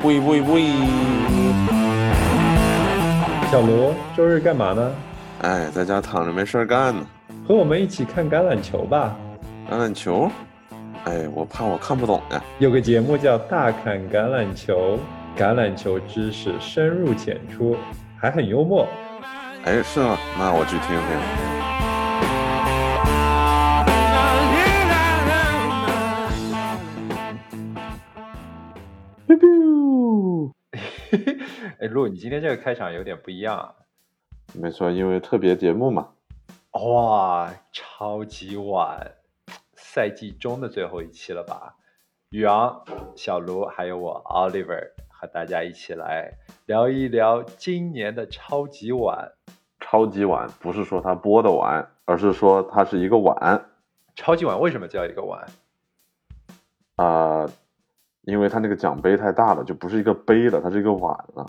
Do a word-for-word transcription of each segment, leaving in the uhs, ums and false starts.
喂喂喂！ 小罗，周日干嘛呢？ 哎，在家躺着没事干呢。 和我们一起看橄榄球吧。 橄榄球？哎，我怕我看不懂呀。 有个节目叫《大侃橄榄球》，橄榄球知识深入浅出，还很幽默。 哎，是吗？那我去听听。 哎，陆，你今天这个开场有点不一样啊。 没错，因为特别节目嘛。 哇，超级晚，赛季中的最后一期了吧？宇昂、小卢还有我 Oliver 和大家一起来聊一聊今年的超级碗。 超级碗不是说它播的碗，而是说它是一个碗。 超级碗为什么叫一个碗？ 啊、呃，因为它那个奖杯太大了，就不是一个杯了，它是一个碗了。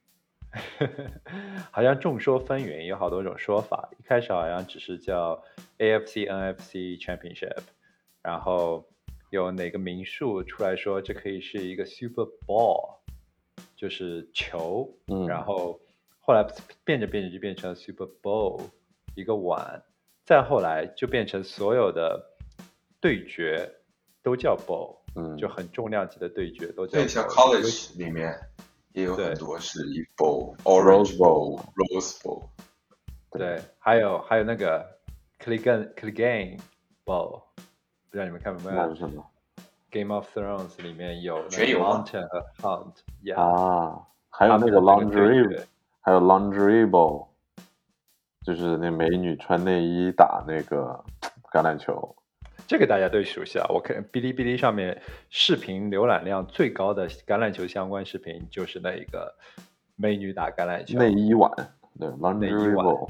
好像众说纷纭，有好多种说法。一开始好像只是叫 A F C N F C Championship， 然后有哪个名宿出来说这可以是一个 Super Bowl， 就是球， 嗯， 然后后来变着变着就变成 Super Bowl， 一个碗，再后来就变成所有的对决都叫 Bowl， 嗯， 就很重量级的对决都叫 Bowl。 对，像 college 里面也有很多是一 bowl，orange bowl，rose bowl。 对，还有还有那个 Clegane Clegane bowl， 不知道你们看没有？ 那是什么 ？Game of Thrones 里面有全有 Mountain 和 Hunt，yeah， 啊，还有那个 lingerie， 还有 lingerie bowl， 就是那美女穿内衣打那个橄榄球。 这个大家都熟悉啊！我看哔哩哔哩上面视频浏览量最高的橄榄球相关视频就是那一个美女打橄榄球内衣碗，对 lingerie bowl。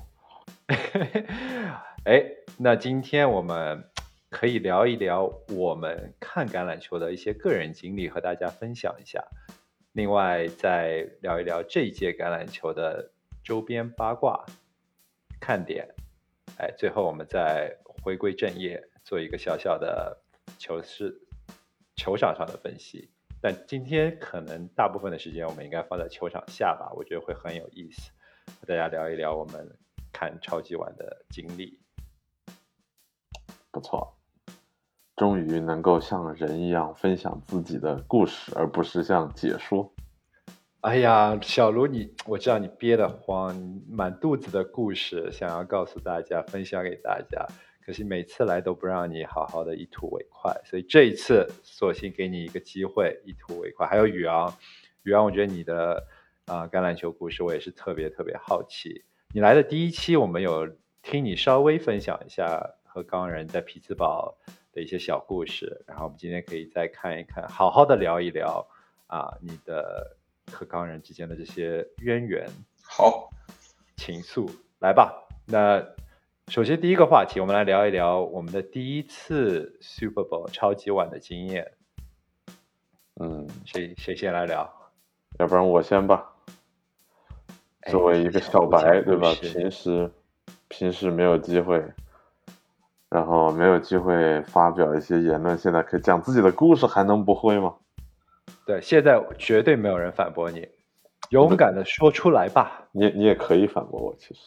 哎，那今天我们可以聊一聊我们看橄榄球的一些个人经历，和大家分享一下。另外再聊一聊这一届橄榄球的周边八卦看点。哎，最后我们再回归正业，做一个小小的球市球场上的分析。但今天可能大部分的时间我们应该放在球场下吧，我觉得会很有意思，和大家聊一聊我们看超级碗的经历。 不错，终于能够像人一样分享自己的故事，而不是像解说。 哎呀，小卢你，我知道你憋得慌，满肚子的故事想要告诉大家，分享给大家，可是每次来都不让你好好的一吐为快，所以这一次索性给你一个机会，一吐为快。还有宇昂，宇昂，我觉得你的啊、呃、橄榄球故事我也是特别特别好奇。你来的第一期，我们有听你稍微分享一下和钢人在匹兹堡的一些小故事，然后我们今天可以再看一看，好好的聊一聊啊你的和钢人之间的这些渊源。 好， 情愫，来吧。那首先第一个话题，我们来聊一聊我们的第一次 Super Bowl 超级碗的经验。 嗯， 谁谁先来聊？ 要不然我先吧。作为一个小白，对吧？平时平时没有机会，然后没有机会发表一些言论，现在可以讲自己的故事，还能不会吗？ 对，现在绝对没有人反驳你，勇敢的说出来吧。 你你也可以反驳我，其实。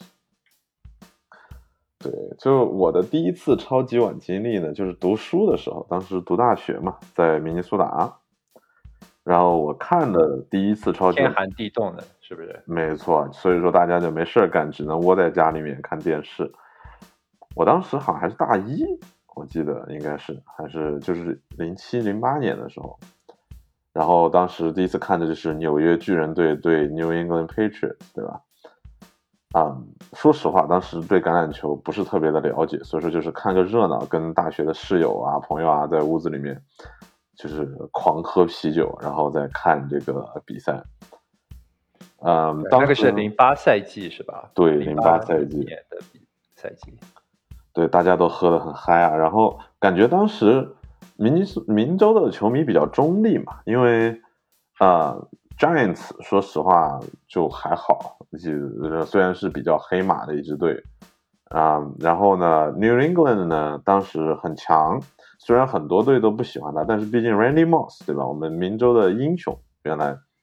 对，就我的第一次超级碗经历呢，就是读书的时候，当时读大学嘛，在明尼苏达。然后我看的第一次超级碗， 天寒地冻的，是不是？ 没错，所以说大家就没事干，只能窝在家里面看电视。我当时好像还是大一，我记得应该是还是就是零七零八年的时候。然后当时第一次看的就是纽约巨人队对 New England Patriots， 对吧？啊、嗯，说实话，当时对橄榄球不是特别的了解，所以说就是看个热闹，跟大学的室友啊、朋友啊，在屋子里面就是狂喝啤酒，然后再看这个比赛。嗯，当时那个是零八赛季是吧？ 对，零八赛季年的赛季。 对，大家都喝得很嗨啊，然后感觉当时明尼苏明州的球迷比较中立嘛，因为啊、呃、Giants 说实话就还好，就虽然是比较黑马的一支队啊、呃，然后呢 New England 呢当时很强，虽然很多队都不喜欢他，但是毕竟 Randy Moss 对吧，我们明州的英雄，原来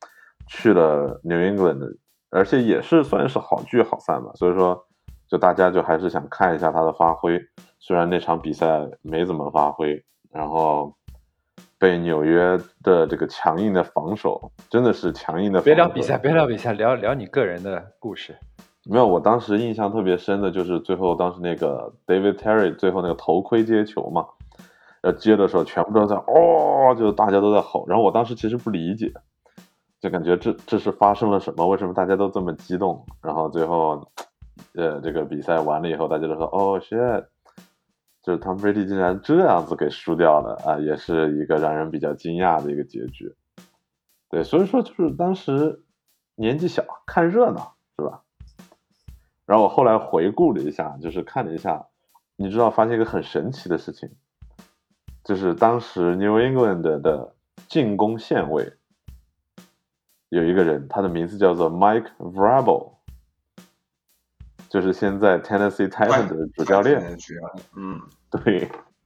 去了 New England，而且也是算是好聚好散吧，所以说就大家就还是想看一下他的发挥，虽然那场比赛没怎么发挥，然后被纽约的这个强硬的防守，真的是强硬的防守。 别聊比赛，别聊比赛，聊聊你个人的故事。 没有，我当时印象特别深的就是最后当时那个 David Terry 最后那个头盔接球嘛，呃，接的时候全部都在哦，就大家都在吼，然后我当时其实不理解，就感觉这这是发生了什么？为什么大家都这么激动？然后最后，呃，这个比赛完了以后，大家都说哦 shit，就是 Tom Brady 竟然这样子给输掉了啊，也是一个让人比较惊讶的一个结局。对，所以说就是当时年纪小，看热闹是吧？然后我后来回顾了一下，就是看了一下，你知道发现一个很神奇的事情，就是当时 New England 的进攻线位有一个人，他的名字叫做 Mike Vrabel， 就是现在 Tennessee Titans 的主教练。 嗯， 对。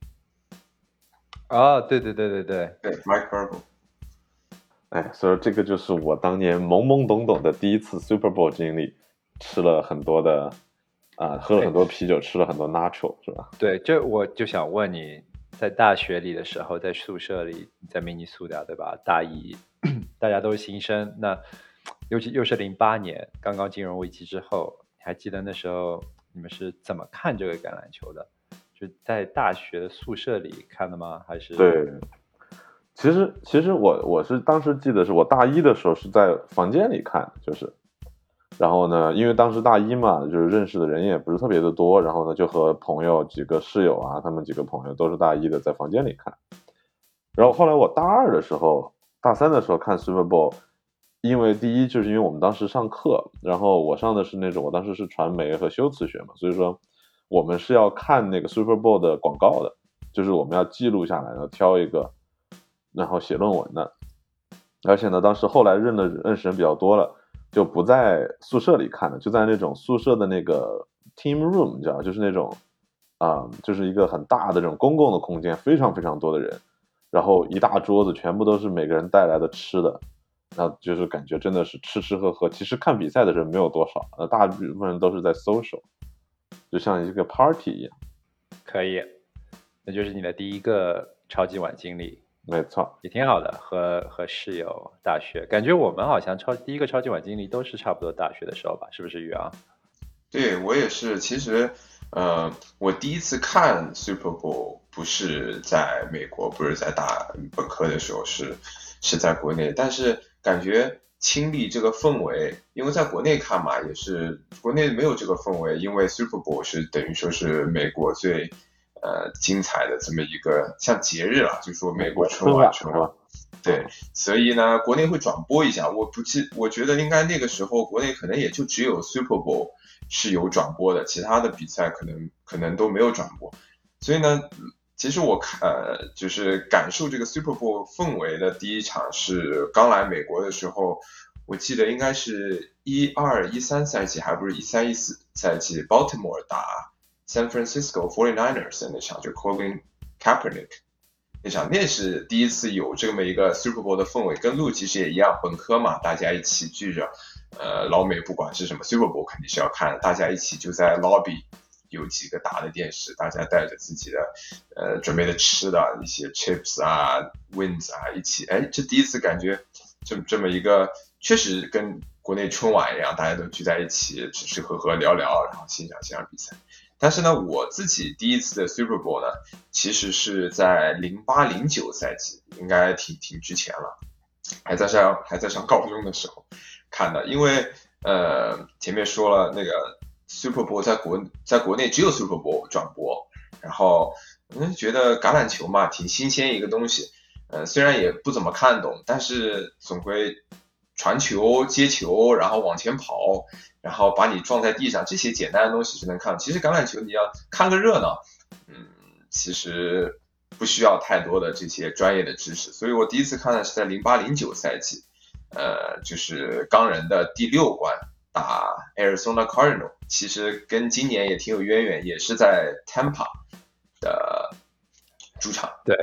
哦，对对对对对对 ，Mike Vrabel。 哎，所以这个就是我当年懵懵懂懂的第一次 Super Bowl 经历。吃了很多的啊、呃，喝了很多啤酒，吃了很多 nacho， 是吧？ 对，这我就想问你，在大学里的时候，在宿舍里，在明尼苏达，对吧？大一，大家都是新生，那尤其又是零八年，刚刚金融危机之后，你还记得那时候你们是怎么看这个橄榄球的？就在大学的宿舍里看的吗？还是？ 对，其实其实我我是当时记得是我大一的时候是在房间里看，就是。然后呢，因为当时大一嘛，就是认识的人也不是特别的多，然后呢，就和朋友几个室友啊，他们几个朋友都是大一的，在房间里看。然后后来我大二的时候，大三的时候看 Super Bowl， 因为第一就是因为我们当时上课，然后我上的是那种，我当时是传媒和修辞学嘛，所以说我们是要看那个 Super Bowl 的广告的，就是我们要记录下来，然后挑一个，然后写论文的。而且呢，当时后来认的认识人比较多了。就不在宿舍里看了，就在那种宿舍的那个 team room， 你知道，就是那种啊、呃，就是一个很大的这种公共的空间，非常非常多的人，然后一大桌子全部都是每个人带来的吃的，那就是感觉真的是吃吃喝喝。其实看比赛的人没有多少，呃，大部分人都是在 social， 就像一个 party 一样。 可以，那就是你的第一个超级碗经历。 没错， 也挺好的，和和室友大学，感觉我们好像超第一个超级碗经历都是差不多大学的时候吧，是不是宇昂？ 对，我也是。其实，呃，我第一次看 Super Bowl 不是在美国，不是在大本科的时候，是是在国内，但是感觉亲历这个氛围，因为在国内看嘛，也是国内没有这个氛围，因为 Super Bowl 是等于说是美国最。呃，精彩的这么一个像节日了，就说美国春晚，春晚，对，所以呢，国内会转播一下。我不记，我觉得应该那个时候国内可能也就只有 Super Bowl 是有转播的，其他的比赛可能可能都没有转播。所以呢，其实我看呃，就是感受这个 Super Bowl 氛围的第一场是刚来美国的时候，我记得应该是一二一三赛季，还不是一三一四赛季 ，Baltimore 打。San Francisco forty-niners 的那场，就 Colin Kaepernick 那场，那是第一次有这么一个 Super Bowl 的氛围，跟路其实也一样，本科嘛，大家一起聚着，呃，老美不管是什么 Super Bowl 肯定是要看，大家一起就在 lobby 有几个大的电视，大家带着自己的呃准备的吃的一些 chips 啊 wings 啊一起，哎，这第一次感觉这这么一个，确实跟国内春晚一样，大家都聚在一起吃吃喝喝聊聊，然后欣赏欣赏比赛。但是呢，我自己第一次的 Super Bowl 呢，其实是在零八零九赛季，应该挺挺之前了，还在上还在上高中的时候看的。因为呃前面说了那个 Super Bowl 在国在国内只有 Super Bowl 转播，然后嗯觉得橄榄球嘛挺新鲜一个东西，呃虽然也不怎么看懂，但是总归传球接球，然后往前跑。然后把你撞在地上，这些简单的东西是能看。其实橄榄球你要看个热闹，嗯，其实不需要太多的这些专业的知识。所以我第一次看的是在零八零九赛季，呃，就是钢人的第六关打 Arizona Cardinal， 其实跟今年也挺有渊源，也是在 Tampa 的主场。 对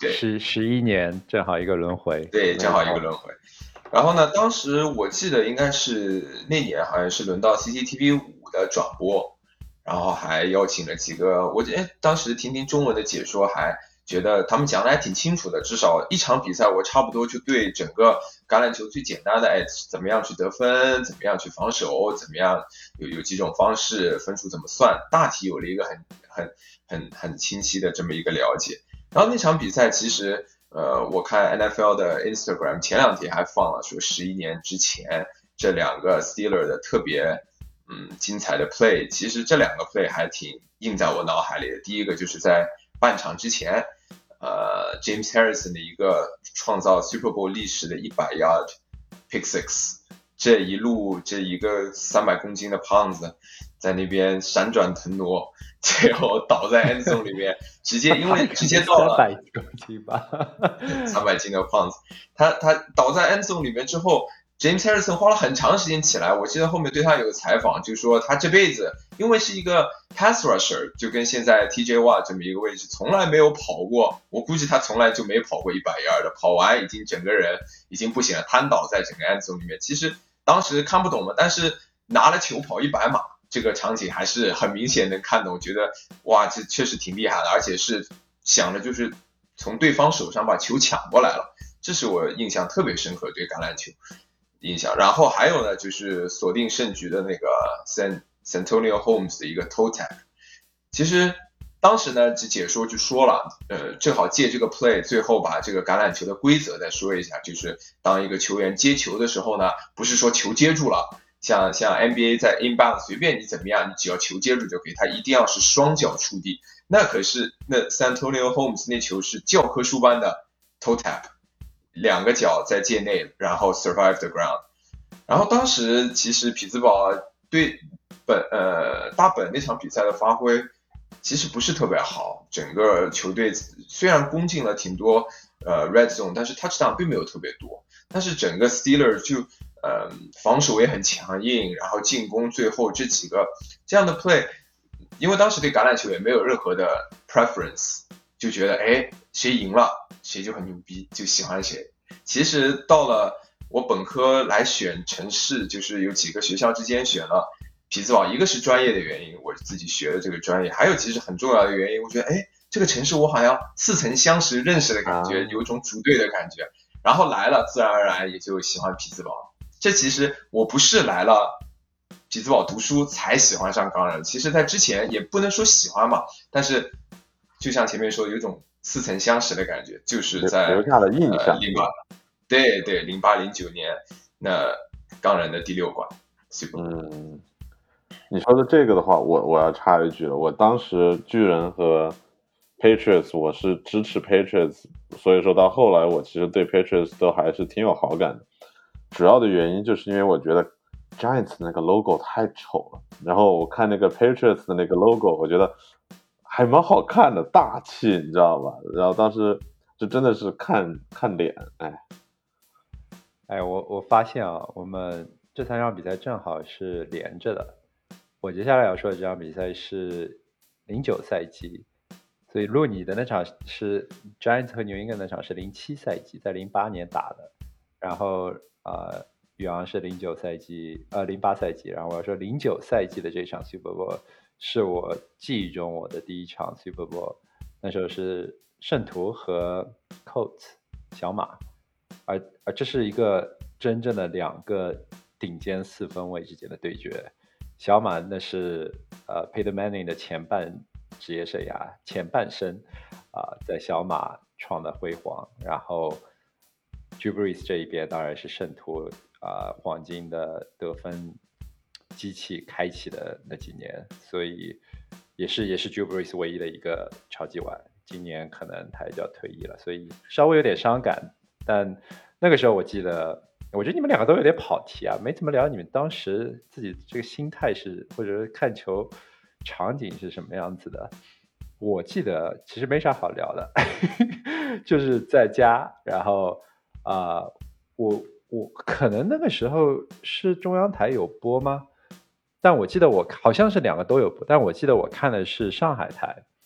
对， 十十一年正好一个轮回， 对，正好一个轮回。然后呢，当时我记得应该是那年好像是轮到 C C T V 五的转播，然后还邀请了几个，我觉得当时听听中文的解说，还觉得他们讲的还挺清楚的，至少一场比赛我差不多就对整个橄榄球最简单的，哎，怎么样去得分，怎么样去防守，怎么样有有几种方式，分数怎么算，大体有了一个很很很很清晰的这么一个了解。然后那场比赛其实。呃，我看 N F L 的 Instagram 前两天还放了说十一年之前这两个 Steeler 的特别嗯精彩的 play， 其实这两个 play 还挺印在我脑海里的。第一个就是在半场之前，呃 James Harrison 的一个创造 Super Bowl 历史的一百 yard pick six， 这一路这一个三百公斤的胖子在那边闪转腾挪。最后倒在 end zone 里面，直接因为直接到了三百公斤吧， 三百斤的胖子，他他倒在 end zone 里面之后 ，James Harrison 花了很长时间起来。我记得后面对他有个采访，就说他这辈子因为是一个 pass rusher， 就跟现在 T J Watt 这么一个位置，从来没有跑过。我估计他从来就没跑过一百 yard 的，跑完已经整个人已经不行了，瘫倒在整个 end zone 里面。其实当时看不懂嘛，但是拿了球跑一百码。这个场景还是很明显能看懂，觉得哇，这确实挺厉害的，而且是想着就是从对方手上把球抢过来了，这是我印象特别深刻对橄榄球印象。然后还有呢，就是锁定胜局的那个 San Santonio Holmes 的一个 toe tap。其实当时呢，解说就说了，呃，正好借这个 play， 最后把这个橄榄球的规则再说一下，就是当一个球员接球的时候呢，不是说球接住了。像像 N B A 在 inbound 随便你怎么样，你只要球接住就可以，他一定要是双脚触地。那可是那 Santonio Holmes 那球是教科书般的 toe tap， 两个脚在界内，然后 survive the ground。然后当时其实匹兹堡对本呃大本那场比赛的发挥其实不是特别好，整个球队虽然攻进了挺多呃 red zone， 但是 touchdown 并没有特别多，但是整个 Steelers 就呃，防守也很强硬，然后进攻最后这几个这样的 play， 因为当时对橄榄球也没有任何的 preference， 就觉得哎谁赢了谁就很牛逼，就喜欢谁。其实到了我本科来选城市，就是有几个学校之间选了匹兹堡，一个是专业的原因，我自己学的这个专业，还有其实很重要的原因，我觉得哎这个城市我好像似曾相识认识的感觉，有一种组队的感觉，然后来了自然而然也就喜欢匹兹堡。这其实我不是来了匹兹堡读书才喜欢上钢人，其实在之前也不能说喜欢嘛，但是就像前面说有一种似曾相识的感觉，就是在留下了印象。 呃、零八对对零八零九年那钢人的第六冠。 嗯，你说的这个的话，我我要插一句了，我当时巨人和 Patriots 我是支持 Patriots， 所以说到后来我其实对 Patriots 都还是挺有好感的。主要的原因就是因为我觉得 Giants 那个 logo 太丑了，然后我看那个 Patriots 的那个 logo， 我觉得还蛮好看的，大气，你知道吧？然后当时就真的是看看脸，哎， 哎，我我发现啊，我们这三场比赛正好是连着的。我接下来要说的这场比赛是零九赛季，所以路你的那场是 Giants 和 New England 那场是零七赛季，在零八年打的，然后。呃，宇昂是零九赛季，呃，零八赛季，然后我要说零九赛季的这场 Super Bowl 是我记忆中我的第一场 Super Bowl， 那时候是圣徒和 Colts 小马，而而这是一个真正的两个顶尖四分卫之间的对决。小马那是呃 Peyton Manning 的前半职业生涯前半生啊、呃，在小马创的辉煌，然后。Drew Brees 这一边当然是圣徒啊、呃、黄金的得分机器开启的那几年，所以也是也是 Drew Brees 唯一的一个超级碗。今年可能他也就要退役了，所以稍微有点伤感。但那个时候我记得，我觉得你们两个都有点跑题啊，没怎么聊你们当时自己这个心态是，或者是看球场景是什么样子的。我记得其实没啥好聊的，就是在家，然后。啊、呃，我我可能那个时候是中央台有播吗？但我记得我好像是两个都有播，但我记得我看的是上海台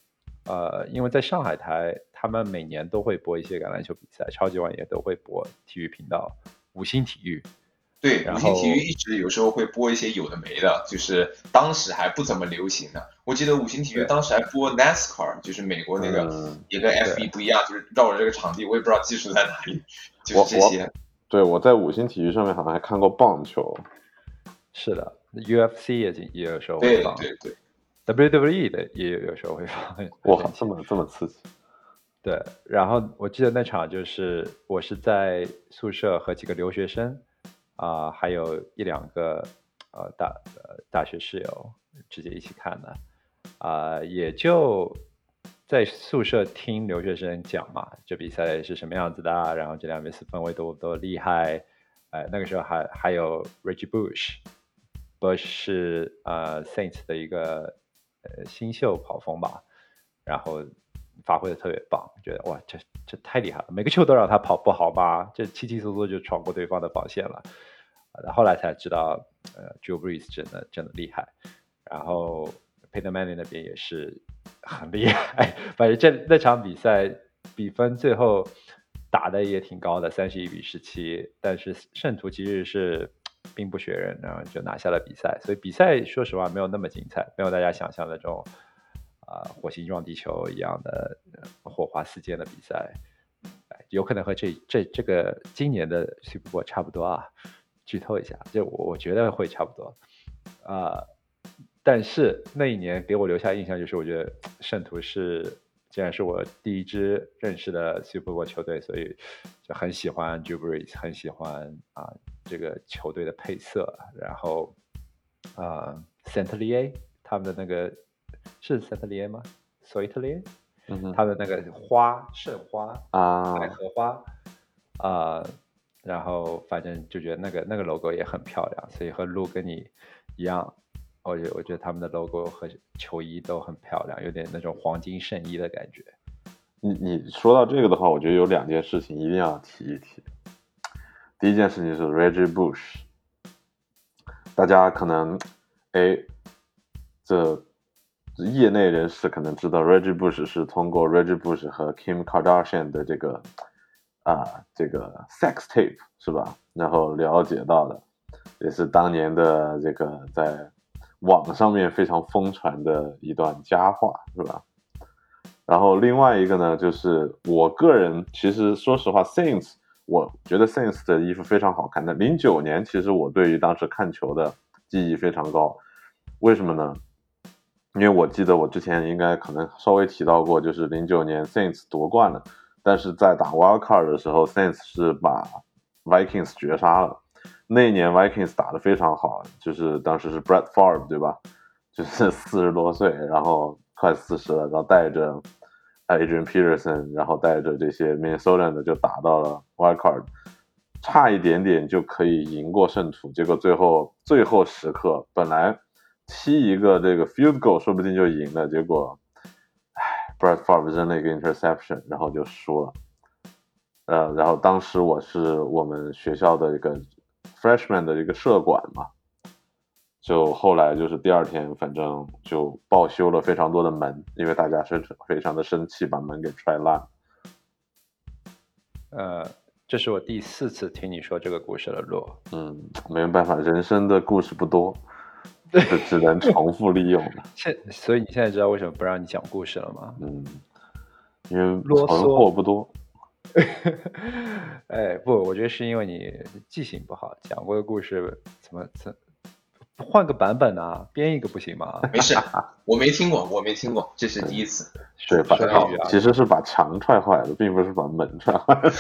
呃，因为在上海台，他们每年都会播一些橄榄球比赛，超级碗也都会播，体育频道五星体育。 对， 然五星体育后一直有时候会播一些有的没的，就是当时还不怎么流行的。我记得五星体育对当时还播 NASCAR，就是美国那个， 嗯也跟 F 一不一样，就是绕着这个场地，我也不知道技术在哪里，就我是这些。 对，我在五星体育上面好像还看过棒球。 是的，U F C 也也有时候会对放对对， ，W W E 的也有有时候会放。很哇神，奇这么这么刺激！ 对，然后我记得那场就是我是在宿舍和几个留学生啊、还有一两个呃大呃大学室友直接一起看的啊、也就在宿舍听留学生讲嘛，这比赛是什么样子的啊，然后这两边是氛围多多厉害，哎、那个时候还还有 Reggie Bush，Bush 是呃 Saints 的一个呃新秀跑锋吧，然后发挥的特别棒，觉得哇，这这太厉害了，每个球都让他跑不好吧，这稀稀疏疏就闯过对方的防线了。呃后来才知道，呃，Drew Brees 真的真的厉害，然后 Peyton Manning 那边也是很厉害，反正这那场比赛比分最后打的也挺高的，三十一比十七，但是圣徒其实是兵不血刃，然后就拿下了比赛，所以比赛说实话没有那么精彩，没有大家想象的这种啊、呃火星撞地球一样的、呃火花四溅的比赛，哎有可能和这这这个今年的 Super Bowl 差不多啊。剧透一下，就我我觉得会差不多啊、但是那一年给我留下印象就是，我觉得圣徒是既然是我第一支认识的 Super Bowl 球队，所以就很喜欢 Drew Brees，很喜欢啊、这个球队的配色，然后啊 Saint-Lié 他们的那个是 Saint-Lié 吗 ？Saint-Lié 嗯哼他们的那个花圣花啊， 百合花啊、然后反正就觉得那个那个 logo 也很漂亮，所以和路跟你一样，我觉得我觉得他们的 logo 和球衣都很漂亮，有点那种黄金圣衣的感觉。 你你说到这个的话，我觉得有两件事情一定要提一提。第一件事情是 Reggie Bush， 大家可能哎，这业内人士可能知道 Reggie Bush 是通过 Reggie Bush 和 Kim Kardashian 的这个啊这个 sex tape 是吧？然后了解到的，也是当年的这个在网上面非常疯传的一段佳话是吧？然后另外一个呢，就是我个人其实说实话 Saints 我觉得 Saints 的衣服非常好看的。零九年其实我对于当时看球的记忆非常高，为什么呢？因为我记得我之前应该可能稍微提到过，就是零九年 Saints 夺冠了，但是在打 Wild Card 的时候 Saints 是把 Vikings 绝杀了。那一年 Vikings 打得非常好，就是当时是 Brett Favre 对吧？就是四十多岁，然后快四十了，然后带着 Adrian Peterson， 然后带着这些 Minnesota 的就打到了 Wild Card， 差一点点就可以赢过圣徒，结果最后最后时刻本来踢一个这个 field goal 说不定就赢了，结果唉 Brett Favre 扔了一个 interception， 然后就输了。呃，然后当时我是我们学校的一个 freshman 的一个社管嘛，就后来就是第二天反正就报修了非常多的门，因为大家是非常的生气，把门给踹烂。 呃，这是我第四次听你说这个故事了，洛。 嗯，没有办法，人生的故事不多，就只能重复利用了。 现所以你现在知道为什么不让你讲故事了吗？ 嗯，因为啰嗦存货不多。 哎，不，我觉得是因为你记性不好，讲过的故事怎么怎换个版本啊，编一个不行吗？ 没事，我没听过，我没听过，这是第一次。 对，把说粤语啊其实是把墙踹坏了，并不是把门踹坏了。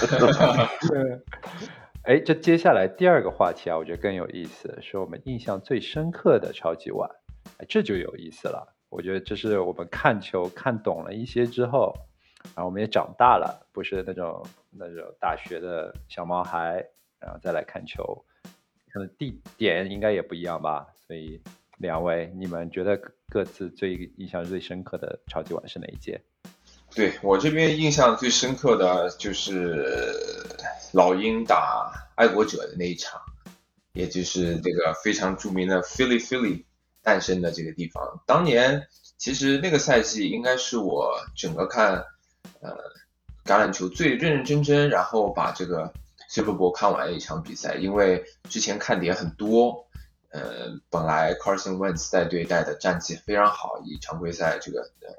哎，这接下来第二个话题啊，我觉得更有意思，是我们印象最深刻的超级碗，哎，这就有意思了。我觉得这是我们看球看懂了一些之后，然后我们也长大了，不是那种那种大学的小毛孩，然后再来看球，可能地点应该也不一样吧。所以两位，你们觉得各自最印象最深刻的超级碗是哪一届？ 对，我这边印象最深刻的就是老鹰打爱国者的那一场，也就是这个非常著名的 Philly Philly， 诞生的这个地方。当年其实那个赛季应该是我整个看呃橄榄球最认认真真，然后把这个 Super Bowl 看完的一场比赛，因为之前看点很多。呃，本来 Carson Wentz 带队带的战绩非常好，以常规赛这个呃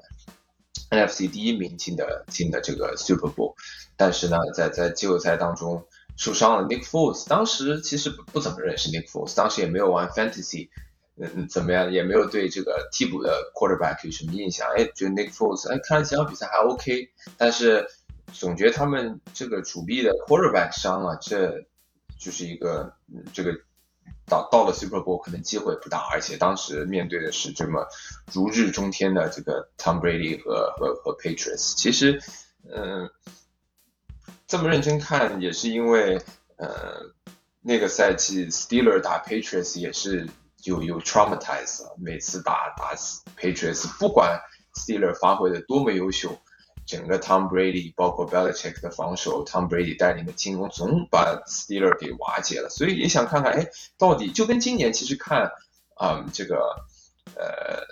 N F C 第一名进的进的这个 Super Bowl， 但是呢，在在季后赛当中受伤了 Nick Foles， 当时其实不怎么认识 Nick Foles， 当时也没有玩 Fantasy， 嗯，怎么样，也没有对这个替补的 quarterback 有什么印象，哎，觉得 Nick Foles， 哎，看了几场比赛还 OK， 但是总觉得他们这个主力的 quarterback 伤了，这就是一个、嗯、这个。到到了 Super Bowl 可能机会不大，而且当时面对的是这么如日中天的这个 Tom Brady 和和和 Patriots。其实，嗯、呃，这么认真看也是因为，呃，那个赛季 Steelers 打 Patriots 也是有有 traumatize 了，每次打打 Patriots， 不管 Steelers 发挥的多么优秀。整个 Tom Brady 包括 Belichick 的防守 ，Tom Brady 带领的进攻总把 Steelers 给瓦解了，所以也想看看，哎，到底就跟今年其实看，嗯，这个呃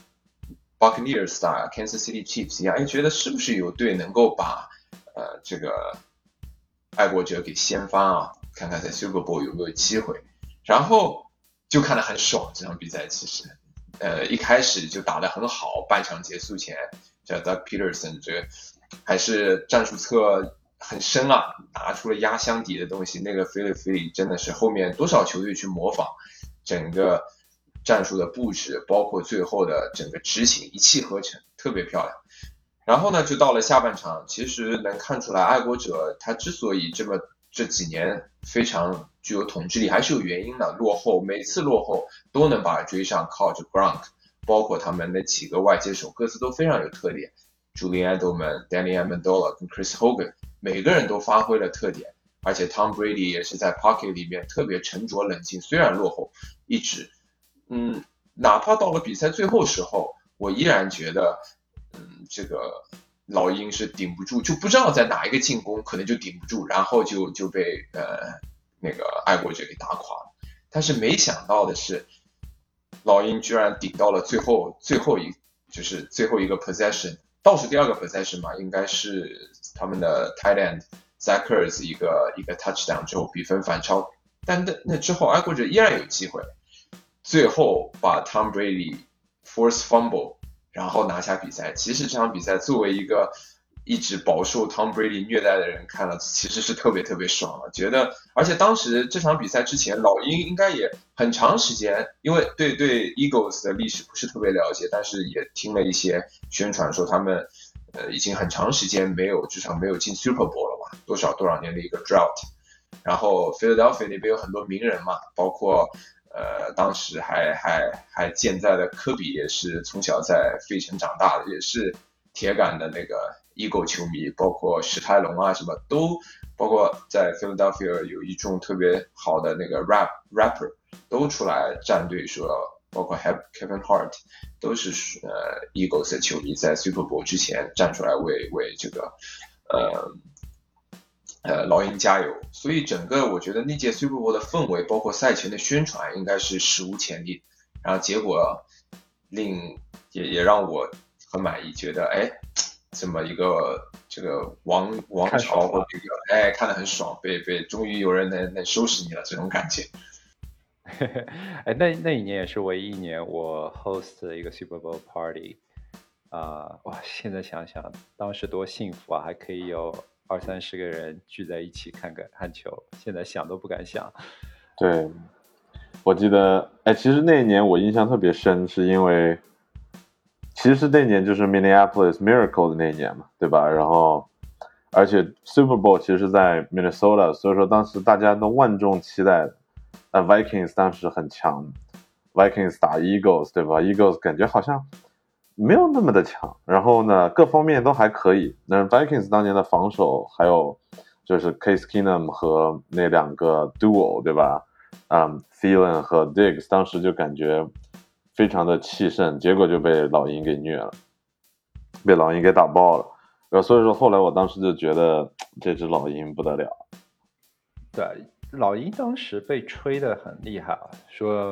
Buccaneers 打 Kansas City Chiefs 一样，哎，觉得是不是有队能够把呃这个爱国者给掀翻啊？看看在 Super Bowl 有没有机会，然后就看得很爽这场比赛，其实，呃，一开始就打得很好，半场结束前。叫 Doug Peterson， 这个还是战术侧很深啊，拿出了压箱底的东西。那个 Philly Philly 真的是后面多少球队去模仿，整个战术的布置，包括最后的整个执行，一气呵成，特别漂亮。然后呢，就到了下半场，其实能看出来，爱国者他之所以这么这几年非常具有统治力，还是有原因的。落后，每次落后都能把追上，靠着 Gronk。包括他们那几个外接手，各自都非常有特点。Julian Edelman、Danny Amendola 跟 Chris Hogan， 每个人都发挥了特点。而且 Tom Brady 也是在 pocket 里面特别沉着冷静，虽然落后，一直，嗯，哪怕到了比赛最后时候，我依然觉得，嗯，这个老鹰是顶不住，就不知道在哪一个进攻可能就顶不住，然后就就被呃那个爱国者给打垮了。但是没想到的是。老鹰居然顶到了最后最后一就是最后一个 possession， 倒数第二个 possession 嘛，应该是他们的 tight end Zach Ertz 一个一个 touchdown 之后比分反超，但那那之后爱国者依然有机会，最后把 Tom Brady force fumble， 然后拿下比赛。其实这场比赛作为一个一直饱受 Tom Brady 虐待的人看了，其实是特别特别爽了。觉得，而且当时这场比赛之前，老鹰应该也很长时间，因为对对 Eagles 的历史不是特别了解，但是也听了一些宣传说他们呃已经很长时间没有至少没有进 Super Bowl 了吧，多少多少年的一个 drought。然后 Philadelphia 那边有很多名人嘛，包括呃当时还还还健在的科比也是从小在费城长大的，也是铁杆的那个。Eagle 球迷，包括史泰龙啊，什么都，包括在 Philadelphia 有一众特别好的那个 rap rapper 都出来站队说，包括 Kevin Hart 都是呃 Eagles 的球迷，在 Super Bowl 之前站出来为为这个呃呃老鹰加油。所以整个我觉得那届 Super Bowl 的氛围，包括赛前的宣传，应该是史无前例。然后结果令也也让我很满意，觉得哎。这么一个这个王王朝或这个哎看得很爽，被被终于有人能能收拾你了这种感觉。 哎，那那一年也是唯一一年我 host 的一个 Super Bowl party 啊、呃，哇！现在想想当时多幸福啊，还可以有二三十个人聚在一起看个看球，现在想都不敢想。 对，我记得哎，其实那一年我印象特别深，是因为。其实那年就是 Minneapolis Miracle 的那一年嘛，对吧？然后，而且 Super Bowl 其实是在 Minnesota， 所以说当时大家都万众期待的。呃 Vikings 当时很强 ，Vikings 打 Eagles， 对吧 ？Eagles 感觉好像没有那么的强，然后呢，各方面都还可以。那 Vikings 当年的防守，还有就是 Case Keenum 和那两个 duo， 对吧？嗯 ，Thielen 和 Diggs 当时就感觉。非常的气盛，结果就被老鹰给虐了，被老鹰给打爆了。然后所以说后来我当时就觉得这只老鹰不得了。 对，老鹰当时被吹得很厉害啊，说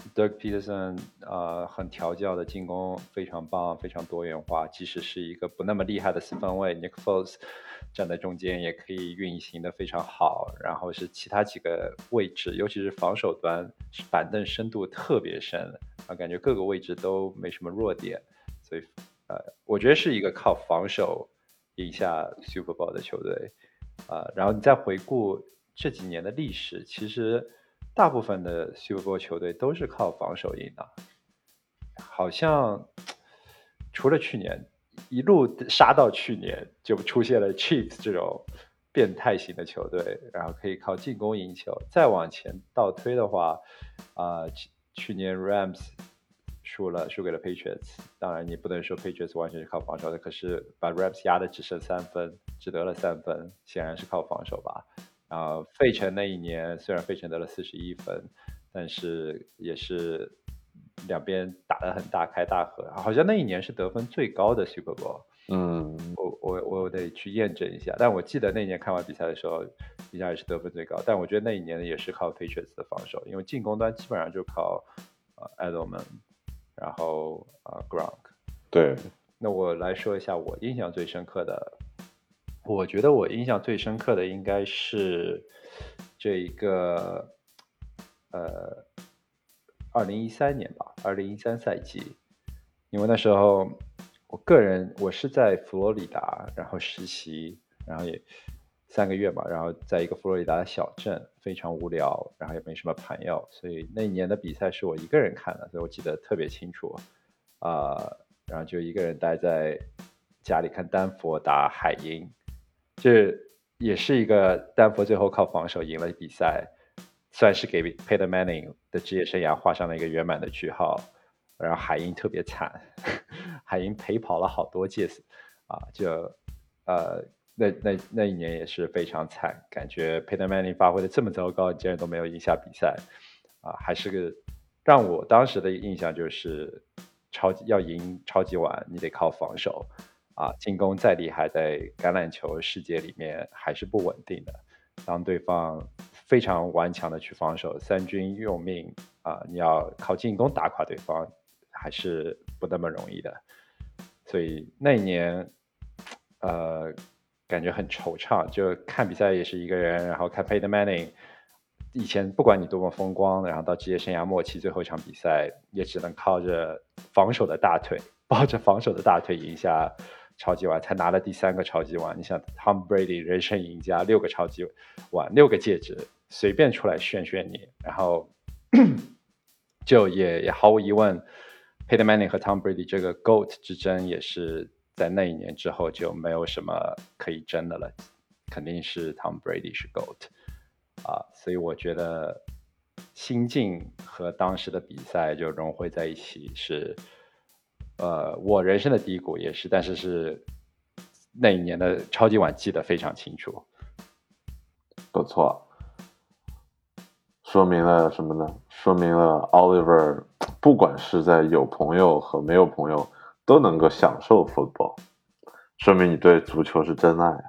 Doug Peterson 呃很调教的进攻非常棒，非常多元化，即使是一个不那么厉害的四分卫 Nick Foles 站在中间也可以运行的非常好，然后是其他几个位置，尤其是防守端板凳深度特别深啊，感觉各个位置都没什么弱点，所以呃我觉得是一个靠防守赢下 Super Bowl 的球队啊、呃，然后你再回顾这几年的历史，其实大部分的 Super Bowl 球队都是靠防守赢的，好像除了去年一路杀到去年，就出现了 Chiefs 这种变态型的球队，然后可以靠进攻赢球。再往前倒推的话，啊、呃，去年 Rams 输了，输给了 Patriots。当然，你不能说 Patriots 完全是靠防守的，可是把 Rams 压的只剩三分，只得了三分，显然是靠防守吧。然后费城那一年，虽然费城得了四十一分，但是也是两边打得很大开大合，好像那一年是得分最高的 Super Bowl。 嗯， 我我我得去验证一下，但我记得那年看完比赛的时候，印象也是得分最高。但我觉得那一年也是靠 Patriots 的防守，因为进攻端基本上就靠呃 Edelman，然后啊、呃、Gronk。 对， 那我来说一下我印象最深刻的，我觉得我印象最深刻的应该是这一个呃二零一三年吧，二零一三赛季，因为那时候我个人我是在佛罗里达，然后实习，然后也三个月嘛，然后在一个佛罗里达的小镇，非常无聊，然后也没什么朋友，所以那一年的比赛是我一个人看的，所以我记得特别清楚啊、呃，然后就一个人待在家里看丹佛打海鹰，这也是一个丹佛最后靠防守赢了比赛，算是给 Peyton Manning 的职业生涯画上了一个圆满的句号。然后海鹰特别惨，海鹰陪跑了好多届啊，就呃那那那一年也是非常惨，感觉 Peyton Manning 发挥的这么糟糕，竟然都没有赢下比赛啊，还是个让我当时的印象就是超级要赢超级碗，你得靠防守啊，进攻再厉害，在橄榄球世界里面还是不稳定的。当对方非常顽强的去防守，三军用命啊，你要靠进攻打垮对方，还是不那么容易的。所以那一年，呃，感觉很惆怅，就看比赛也是一个人，然后看 Peyton Manning。以前不管你多么风光，然后到职业生涯末期最后一场比赛，也只能靠着防守的大腿，抱着防守的大腿赢下超级碗，才拿了第三个超级碗。你想 Tom Brady 人生赢家，六个超级碗，六个戒指，随便出来炫炫你，然后就也也毫无疑问 Peyton Manning 和 Tom Brady 这个 GOAT 之争也是在那一年之后就没有什么可以争的了，肯定是 Tom Brady 是 GOAT 啊，所以我觉得心境和当时的比赛就融汇在一起，是呃我人生的低谷也是，但是是那一年的超级碗记得非常清楚。 不错，说明了什么呢？说明了 Oliver 不管是在有朋友和没有朋友都能够享受 football， 说明你对足球是真爱。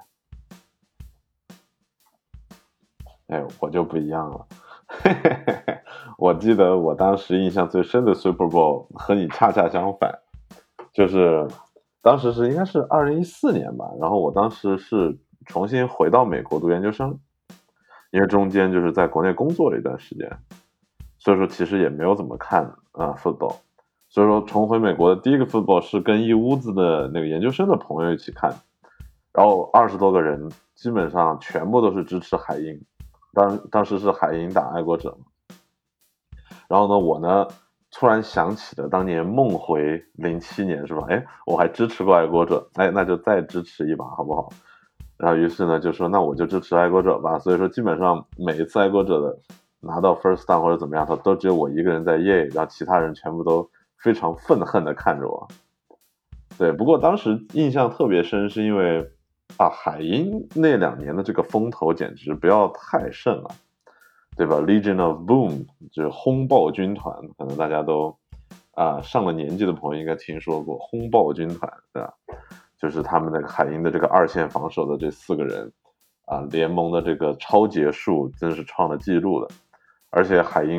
哎，我就不一样了。我记得我当时印象最深的 Super Bowl 和你恰恰相反，就是当时是应该是二零一四年吧，然后我当时是重新回到美国读研究生，因为中间就是在国内工作了一段时间，所以说其实也没有怎么看啊、呃、football， 所以说重回美国的第一个 football 是跟一屋子的那个研究生的朋友一起看，然后二十多个人基本上全部都是支持海鹰，当当时是海鹰打爱国者嘛，然后呢我呢突然想起了当年梦回零七年是吧？哎，我还支持过爱国者，哎，那就再支持一把好不好？然后于是呢就说那我就支持爱国者吧，所以说基本上每一次爱国者的拿到 first down 或者怎么样，他都只有我一个人在耶，然后其他人全部都非常愤恨的看着我。对，不过当时印象特别深，是因为啊，海鹰那两年的这个风头简直不要太盛了，对吧 ？Legion of Boom 就是轰爆军团，可能大家都啊上了年纪的朋友应该听说过轰爆军团，对吧？就是他们那个海鹰的这个二线防守的这四个人啊，联盟的这个超节数真是创了记录的，而且海鹰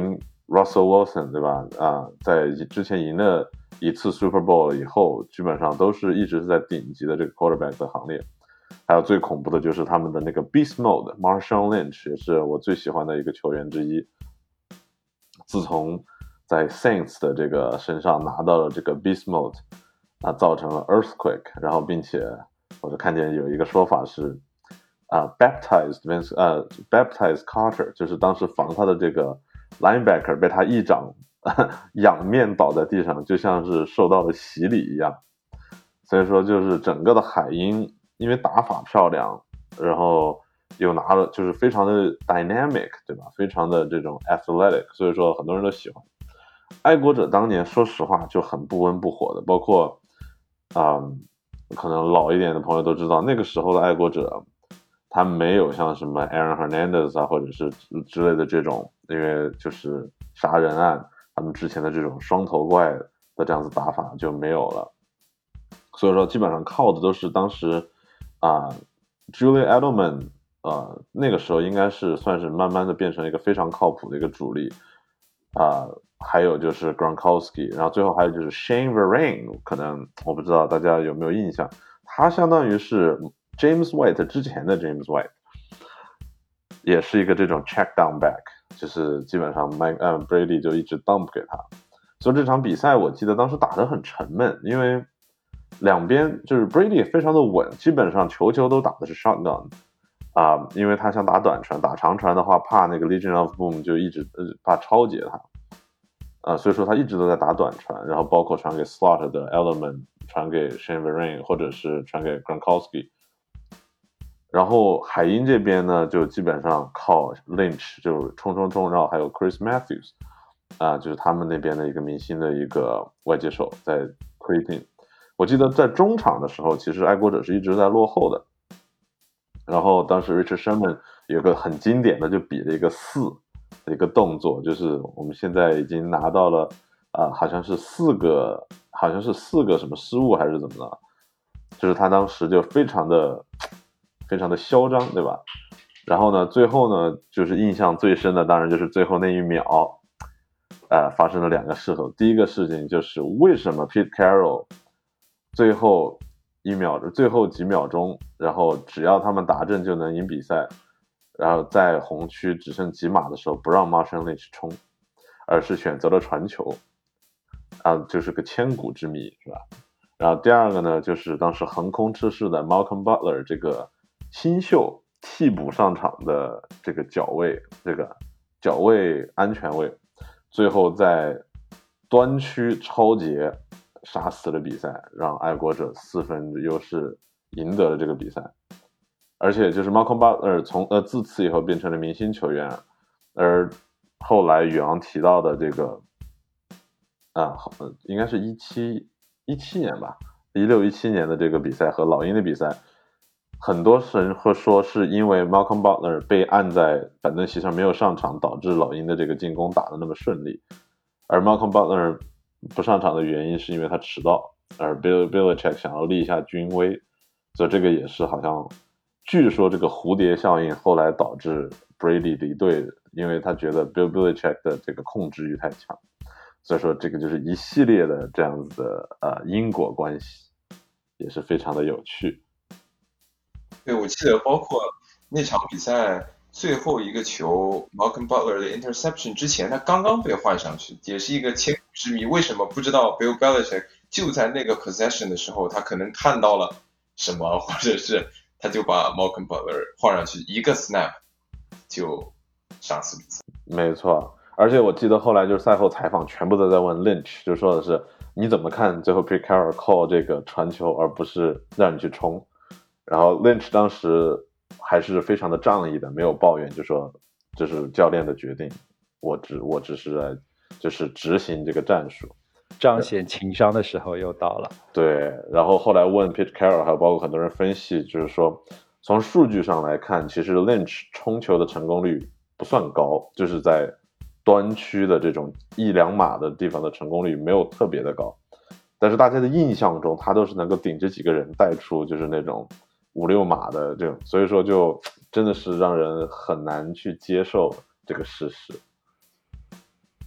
Russell Wilson 对吧？啊，在之前赢了一次 Super Bowl 以后，基本上都是一直是在顶级的这个 quarterback 的行列。还有最恐怖的就是他们的那个 Beast Mode Marshawn Lynch 也是我最喜欢的一个球员之一。自从在 Saints 的这个身上拿到了这个 Beast Mode， 那造成了 Earthquake， 然后并且我就看见有一个说法是啊、uh, baptized Vince 呃、uh, baptized Carter， 就是当时防他的这个 linebacker 被他一掌仰面倒在地上，就像是受到了洗礼一样。所以说就是整个的海鹰因为打法漂亮，然后又拿了就是非常的 dynamic 对吧，非常的这种 athletic， 所以说很多人都喜欢。爱国者当年说实话就很不温不火的，包括嗯，可能老一点的朋友都知道那个时候的爱国者他没有像什么 Aaron Hernandez 啊或者是之类的这种因为就是杀人案他们之前的这种双头怪的这样子打法就没有了，所以说基本上靠的都是当时啊、呃、Julian Edelman 呃那个时候应该是算是慢慢的变成一个非常靠谱的一个主力啊、呃还有就是 Gronkowski， 然后最后还有就是 Shane Vereen， 可能我不知道大家有没有印象，他相当于是 James White 之前的 James White， 也是一个这种 check down back， 就是基本上 Mike、呃、Brady 就一直 dump 给他，所以这场比赛我记得当时打得很沉闷，因为两边就是 Brady 也非常的稳，基本上球球都打的是 shotgun 啊、呃，因为他想打短传，打长传的话怕那个 Legion of Boom 就一直、呃、怕超截他。啊，所以说他一直都在打短传，然后包括传给 slot 的 element， 传给 Shane Vereen， 或者是传给 Gronkowski。然后海鹰这边呢，就基本上靠 Lynch 就冲冲冲，然后还有 Chris Matthews， 啊，就是他们那边的一个明星的一个外接手在推进。我记得在中场的时候，其实爱国者是一直在落后的。然后当时 Richard Sherman 有个很经典的，就比了一个四。的一个动作，就是我们现在已经拿到了啊、呃，好像是四个，好像是四个什么失误还是怎么了？就是他当时就非常的非常的嚣张，对吧？然后呢，最后呢，就是印象最深的，当然就是最后那一秒，呃，发生了两个事情。第一个事情就是为什么 Pete Carroll 最后一秒，最后几秒钟，然后只要他们打正就能赢比赛。然后在红区只剩几码的时候不让 Marshawn Lynch 冲，而是选择了传球，啊，就是个千古之谜，是吧？然后第二个呢，就是当时横空出世的 Malcolm Butler 这个新秀替补上场的这个脚位，这个脚位安全位，最后在端区超节杀死了比赛，让爱国者四分的优势赢得了这个比赛。而且就是 Malcolm Butler 从呃自此以后变成了明星球员，而后来宇昂提到的这个啊，应该是一七一七年吧，一六一七年的这个比赛和老鹰的比赛，很多人会说是因为 Malcolm Butler 被按在板凳席上没有上场，导致老鹰的这个进攻打得那么顺利，而 Malcolm Butler 不上场的原因是因为他迟到，而 Bill Belichick 想要立一下军威，所以这个也是好像。据说这个蝴蝶效应后来导致 Brady 离队，因为他觉得 Bill Belichick 的这个控制欲太强，所以说这个就是一系列的这样子的呃因果关系，也是非常的有趣。 对，我记得包括那场比赛最后一个球 Malcolm Butler 的 interception 之前，他刚刚被换上去，也是一个千古之谜。为什么不知道 Bill Belichick 就在那个 possession 的时候，他可能看到了什么，或者是他就把 Malcolm Butler 换上去，一个 snap 就杀死比赛。 没错，而且我记得后来就是赛后采访全部都在问 Lynch， 就说的是你怎么看最后 Pete Carroll call 这个传球而不是让你去冲，然后 Lynch 当时还是非常的仗义的，没有抱怨，就说这是教练的决定，我只我只是来就是执行这个战术。 彰显情商的时候又到了。 对，然后后来问 Pete Carroll， 还有包括很多人分析，就是说从数据上来看，其实 Lynch 冲球的成功率不算高，就是在端区的这种一两码的地方的成功率没有特别的高，但是大家的印象中他都是能够顶着几个人带出就是那种五六码的这种，所以说就真的是让人很难去接受这个事实。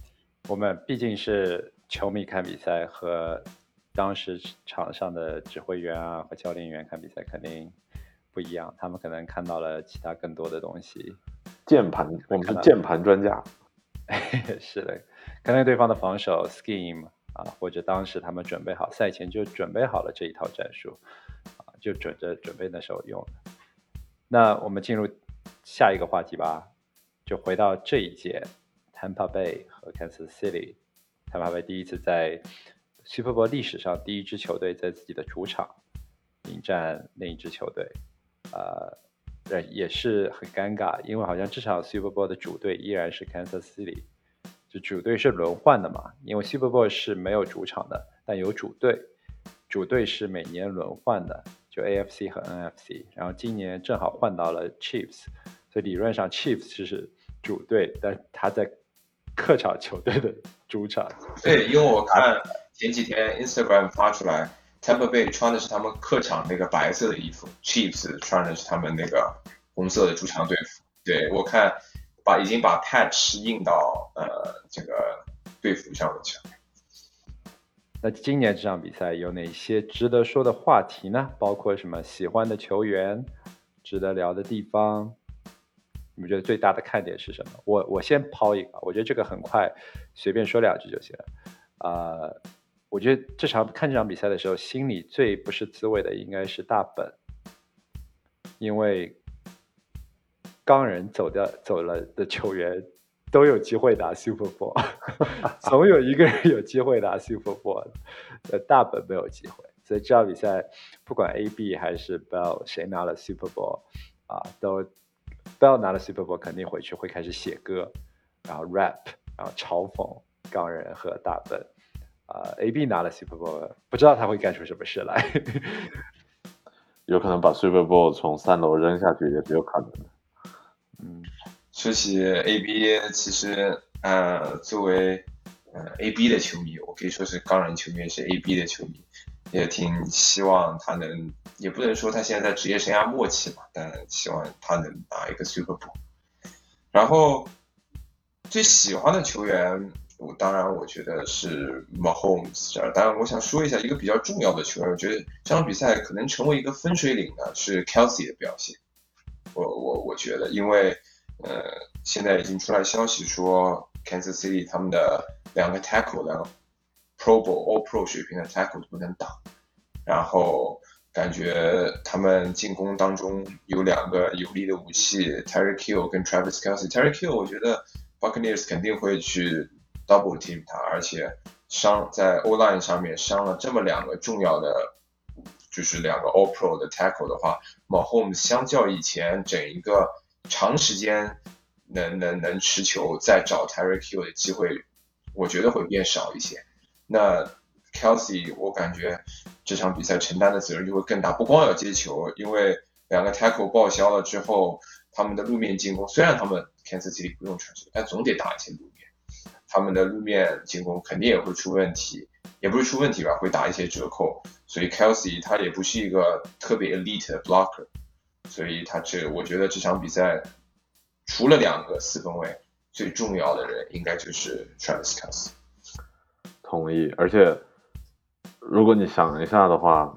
我们毕竟是球迷看比赛，和当时场上的指挥员啊和教练员看比赛肯定不一样，他们可能看到了其他更多的东西。 键盘，我们是键盘专家。 是的，可能对方的防守 scheme 啊，或者当时他们准备好，赛前就准备好了这一套战术啊，就准着准备那时候用的。那我们进入下一个话题吧，就回到这一届 Tampa Bay 和 Kansas City。Tampa Bay 第一次在 Super Bowl 历史上第一支球队在自己的主场迎战另一支球队，呃。也是很尴尬，因为好像这场 Super Bowl 的主队依然是 Kansas City， 就主队是轮换的嘛，因为 Super Bowl 是没有主场的，但有主队，主队是每年轮换的，就 A F C 和 N F C， 然后今年正好换到了 Chiefs， 所以理论上 Chiefs 是主队，但他在客场球队的主场。 对，因为我看前几天 Instagram 发出来Tampa Bay 穿的是他们客场那个白色的衣服 ，Chiefs 穿的是他们那个红色的主场队服。对，我看把已经把 patch 印到呃这个队服上面去了。 那今年这场比赛有哪些值得说的话题呢？包括什么喜欢的球员，值得聊的地方？你们觉得最大的看点是什么？我我先抛一个，我觉得这个很快，随便说两句就行了。啊、呃。我觉得这场看这场比赛的时候，心里最不是滋味的应该是大本，因为钢人走掉走了的球员都有机会打 Super Bowl， 总有一个人有机会打 Super Bowl， 呃，大本没有机会，所以这场比赛不管 A B 还是 Bell 谁拿了 Super Bowl 啊，都 Bell 拿了 Super Bowl 肯定回去会开始写歌，然后 rap， 然后嘲讽钢人和大本。呃 ，A B 拿了 Super Bowl， 不知道他会干出什么事来。 有可能把 Super Bowl 从三楼扔下去也是有可能的。 嗯， 说起 A B， 其实呃，作为呃 A B 的球迷，我可以说是钢人球迷，也是 A B 的球迷，也挺希望他能，也不能说他现在在职业生涯末期嘛，但希望他能拿一个 Super Bowl。然后最喜欢的球员。我当然，我觉得是 Mahomes。当然，我想说一下一个比较重要的球员，我觉得这场比赛可能成为一个分水岭呢，是 Kelsey 的表现。我我我觉得，因为呃，现在已经出来消息说 Kansas City 他们的两个 tackle， 两个 Pro Bowl All Pro 水平的 tackle 都不能打，然后感觉他们进攻当中有两个有力的武器 ，Tyreek Hill 跟 Travis Kelce。Tyreek Hill 我觉得 Buccaneers 肯定会去double team 他，而且伤在 O-line 上面伤了这么两个重要的，就是两个 All Pro 的 tackle 的话 ，Mahomes 相较以前整一个长时间能能能持球再找 Tyreek Hill 的机会，我觉得会变少一些。那 Kelsey 我感觉这场比赛承担的责任就会更大，不光要接球，因为两个 tackle 报销了之后，他们的路面进攻虽然他们 Kansas City 不用传球，但总得打一些路面。他们的路面进攻肯定也会出问题，也不是出问题吧，会打一些折扣。所以 Kelsey 他也不是一个特别 elite 的 blocker， 所以他这我觉得这场比赛除了两个四分卫，最重要的人应该就是 Travis Kelce。 同意，而且如果你想一下的话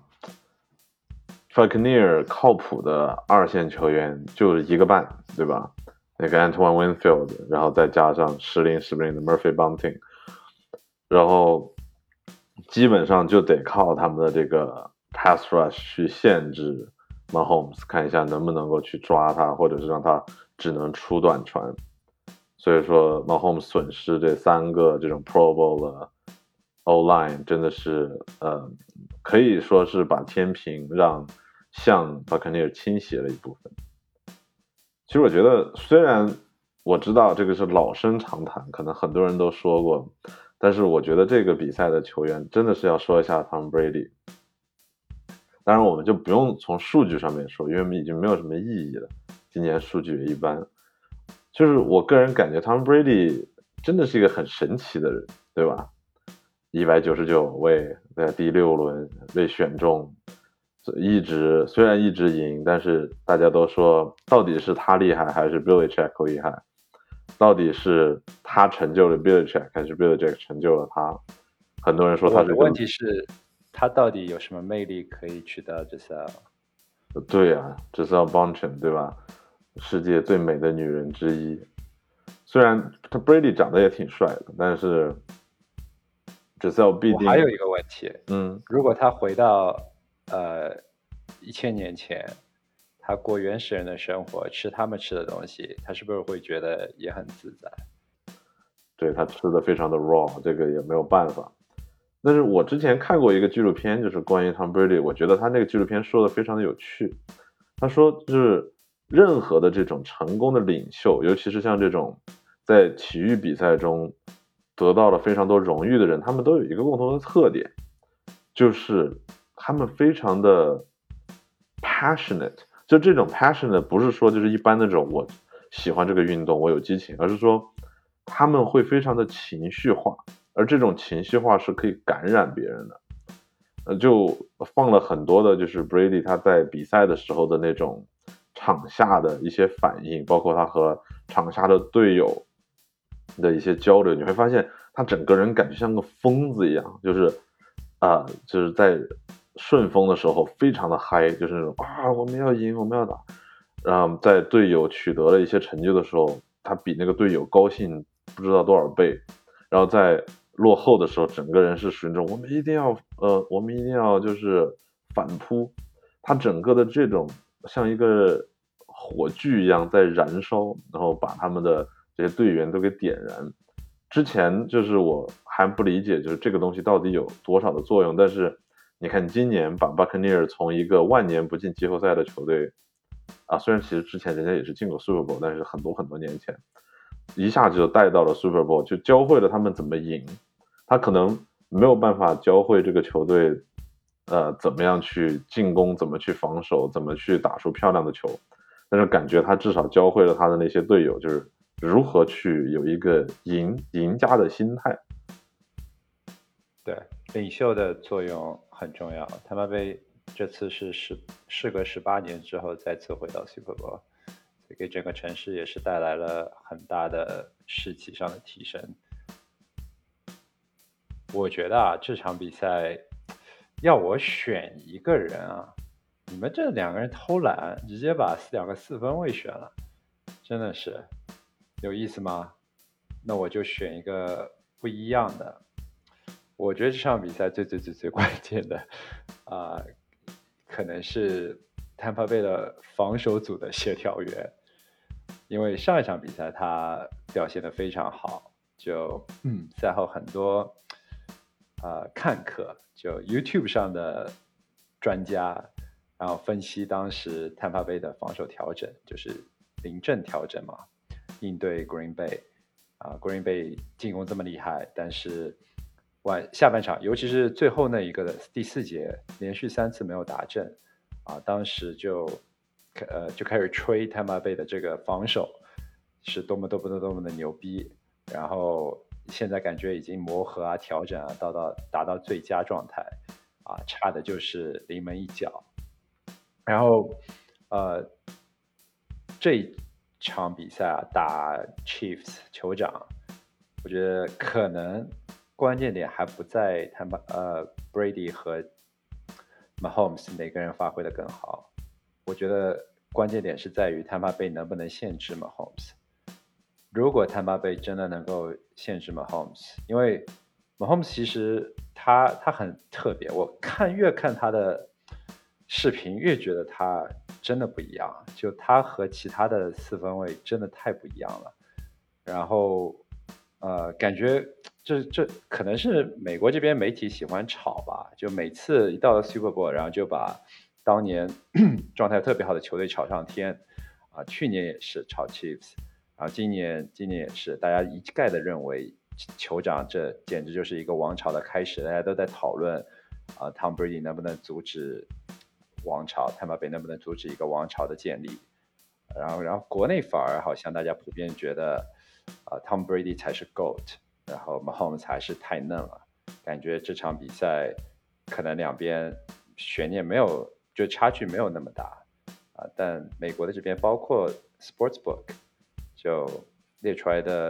，Buccaneers 靠谱的二线球员就是一个半，对吧？那个 Antoine Winfield， 然后再加上时灵时不灵的 Murphy Bunting， 然后基本上就得靠他们的这个 pass rush 去限制 Mahomes， 看一下能不能够去抓他，或者是让他只能出短传。所以说 Mahomes 损失这三个这种 Pro Bowl 的 O-line 真的是呃，可以说是把天平让向 Buccaneers 倾斜了一部分。其实我觉得，虽然我知道这个是老生常谈，可能很多人都说过，但是我觉得这个比赛的球员真的是要说一下 Tom Brady。当然，我们就不用从数据上面说，因为已经没有什么意义了。今年数据也一般。就是我个人感觉 Tom Brady 真的是一个很神奇的人，对吧？一百九十九位在第六轮被选中。一直虽然一直赢，但是大家都说到底是他厉害还是 Belichick 厉害？到底是他他成就了 Belichick 还是 Belichick 成就了他？很多人说他是个。 我的问题是，他到底有什么魅力可以取到 Gisele？ 对啊 Gisele Bündchen 对吧？世界最美的女人之一。虽然他 Brady 长得也挺帅的，但是 Gisele 必定。 我还有一个问题， 嗯， 如果他回到呃一千年前，他过原始人的生活，吃他们吃的东西，他是不是会觉得也很自在？ 对，他吃的非常的 raw， 这个也没有办法。但是我之前看过一个纪录片，就是关于 Tom Brady， 我觉得他那个纪录片说的非常的有趣。他说，就是任何的这种成功的领袖，尤其是像这种在体育比赛中得到了非常多荣誉的人，他们都有一个共同的特点，就是他们非常的 passionate。就这种 passionate 不是说就是一般那种我喜欢这个运动，我有激情，而是说他们会非常的情绪化，而这种情绪化是可以感染别人的。呃，就放了很多的，就是 Brady 他在比赛的时候的那种场下的一些反应，包括他和场下的队友的一些交流，你会发现他整个人感觉像个疯子一样，就是啊、呃，就是在顺风的时候非常的嗨，就是那种啊我们要赢，我们要打。然后在队友取得了一些成就的时候，他比那个队友高兴不知道多少倍。然后在落后的时候，整个人是属于那种我们一定要呃，我们一定要就是反扑。他整个的这种像一个火炬一样在燃烧，然后把他们的这些队员都给点燃。之前就是我还不理解，就是这个东西到底有多少的作用。但是你看今年把 Buccaneers 从一个万年不进季后赛的球队啊，虽然其实之前人家也是进过 Super Bowl， 但是很多很多年前，一下就带到了 Super Bowl， 就教会了他们怎么赢。他可能没有办法教会这个球队，呃，怎么样去进攻，怎么去防守，怎么去打出漂亮的球。但是感觉他至少教会了他的那些队友，就是如何去有一个赢赢家的心态。 对，领袖的作用很重要。他们被这次是十事隔十八年之后再次回到 Super Bowl， 给整个城市也是带来了很大的士气上的提升。我觉得啊，这场比赛要我选一个人啊，你们这两个人偷懒，直接把两个四分卫选了，真的是有意思吗？那我就选一个不一样的。我觉得这场比赛最最最最关键的啊、呃，可能是 Tampa Bay 的防守组的协调员，因为上一场比赛他表现得非常好，就嗯赛后很多呃看客，就 YouTube 上的专家，然后分析当时 Tampa Bay 的防守调整，就是临阵调整嘛，应对 Green Bay 啊、呃、，Green Bay 进攻这么厉害，但是晚下半场，尤其是最后那一个的第四节，连续三次没有打正啊，当时就呃就开始吹 Tampa Bay 的这个防守是多么多么多么的牛逼，然后现在感觉已经磨合啊、调整啊，到到达到最佳状态啊，差的就是临门一脚。然后呃这一场比赛啊，打 Chiefs 酋长，我觉得可能关键点还不在他们呃 Brady 和 Mahomes 哪个人发挥的更好，我觉得关键点是在于 Tampa Bay 能不能限制 Mahomes。如果 Tampa Bay 真的能够限制 Mahomes， 因为 Mahomes 其实他他很特别，我看越看他的视频越觉得他真的不一样，就他和其他的四分卫真的太不一样了。然后呃，感觉这这可能是美国这边媒体喜欢炒吧，就每次一到了 Super Bowl， 然后就把当年状态特别好的球队炒上天啊，去年也是炒 Chiefs。然后今年今年也是，大家一概的认为酋长这简直就是一个王朝的开始，大家都在讨论啊、呃、，Tom Brady 能不能阻止王朝 ，Tampa Bay 能不能阻止一个王朝的建立？然后然后国内反而好像大家普遍觉得啊、呃、，Tom Brady 才是 GOAT， 然后 Mahomes 才是太嫩了，感觉这场比赛可能两边悬念没有，就差距没有那么大啊、呃，但美国的这边包括 Sportsbook。就列出来的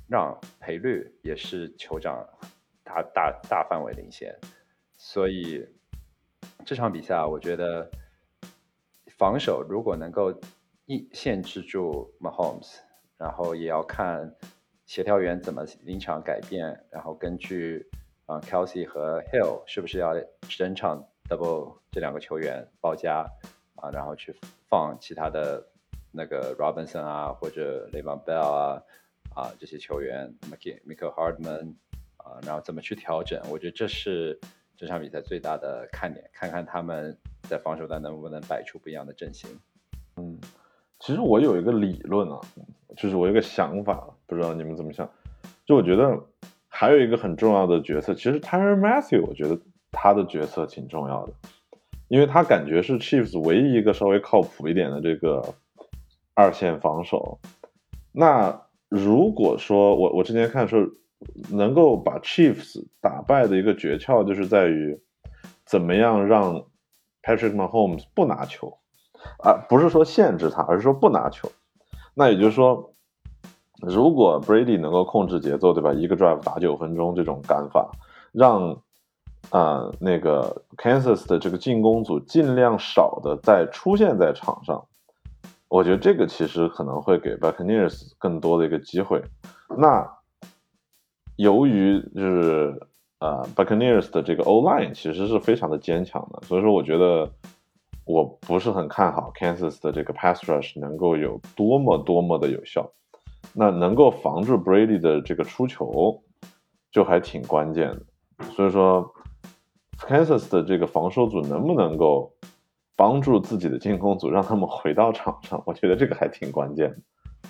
让赔率也是酋长大大大范围领先，所以这场比赛我觉得防守如果能够一限制住 Mahomes， 然后也要看协调员怎么临场改变，然后根据啊、呃、Kelsey 和 Hill 是不是要整场 double 这两个球员包夹啊，然后去放其他的那个 Robinson 啊或者 Le'Veon Bell 啊啊这些球员 Mecole Hardman 啊，然后怎么去调整，我觉得这是这场比赛最大的看点，看看他们在防守端能不能摆出不一样的阵型。 嗯，其实我有一个理论啊，就是我有一个想法，不知道你们怎么想。就我觉得还有一个很重要的角色，其实 Tyrann Mathieu 我觉得他的角色挺重要的，因为他感觉是 Chiefs 唯一一个稍微靠谱一点的这个二线防守。那如果说我我之前看说能够把 Chiefs 打败的一个诀窍，就是在于怎么样让 Patrick Mahomes 不拿球啊，不是说限制他，而是说不拿球。那也就是说，如果 Brady 能够控制节奏，对吧？一个 drive 打九分钟这种干法，让呃那个 Kansas 的这个进攻组尽量少的再出现在场上，我觉得这个其实可能会给 Buccaneers 更多的一个机会。那由于就是呃 Buccaneers 的这个 O-line 其实是非常的坚强的，所以说我觉得我不是很看好 Kansas 的这个 pass rush 能够有多么多么的有效。那能够防住 Brady 的这个出球就还挺关键的。所以说 Kansas 的这个防守组能不能够帮助自己的进攻组让他们回到场上，我觉得这个还挺关键的。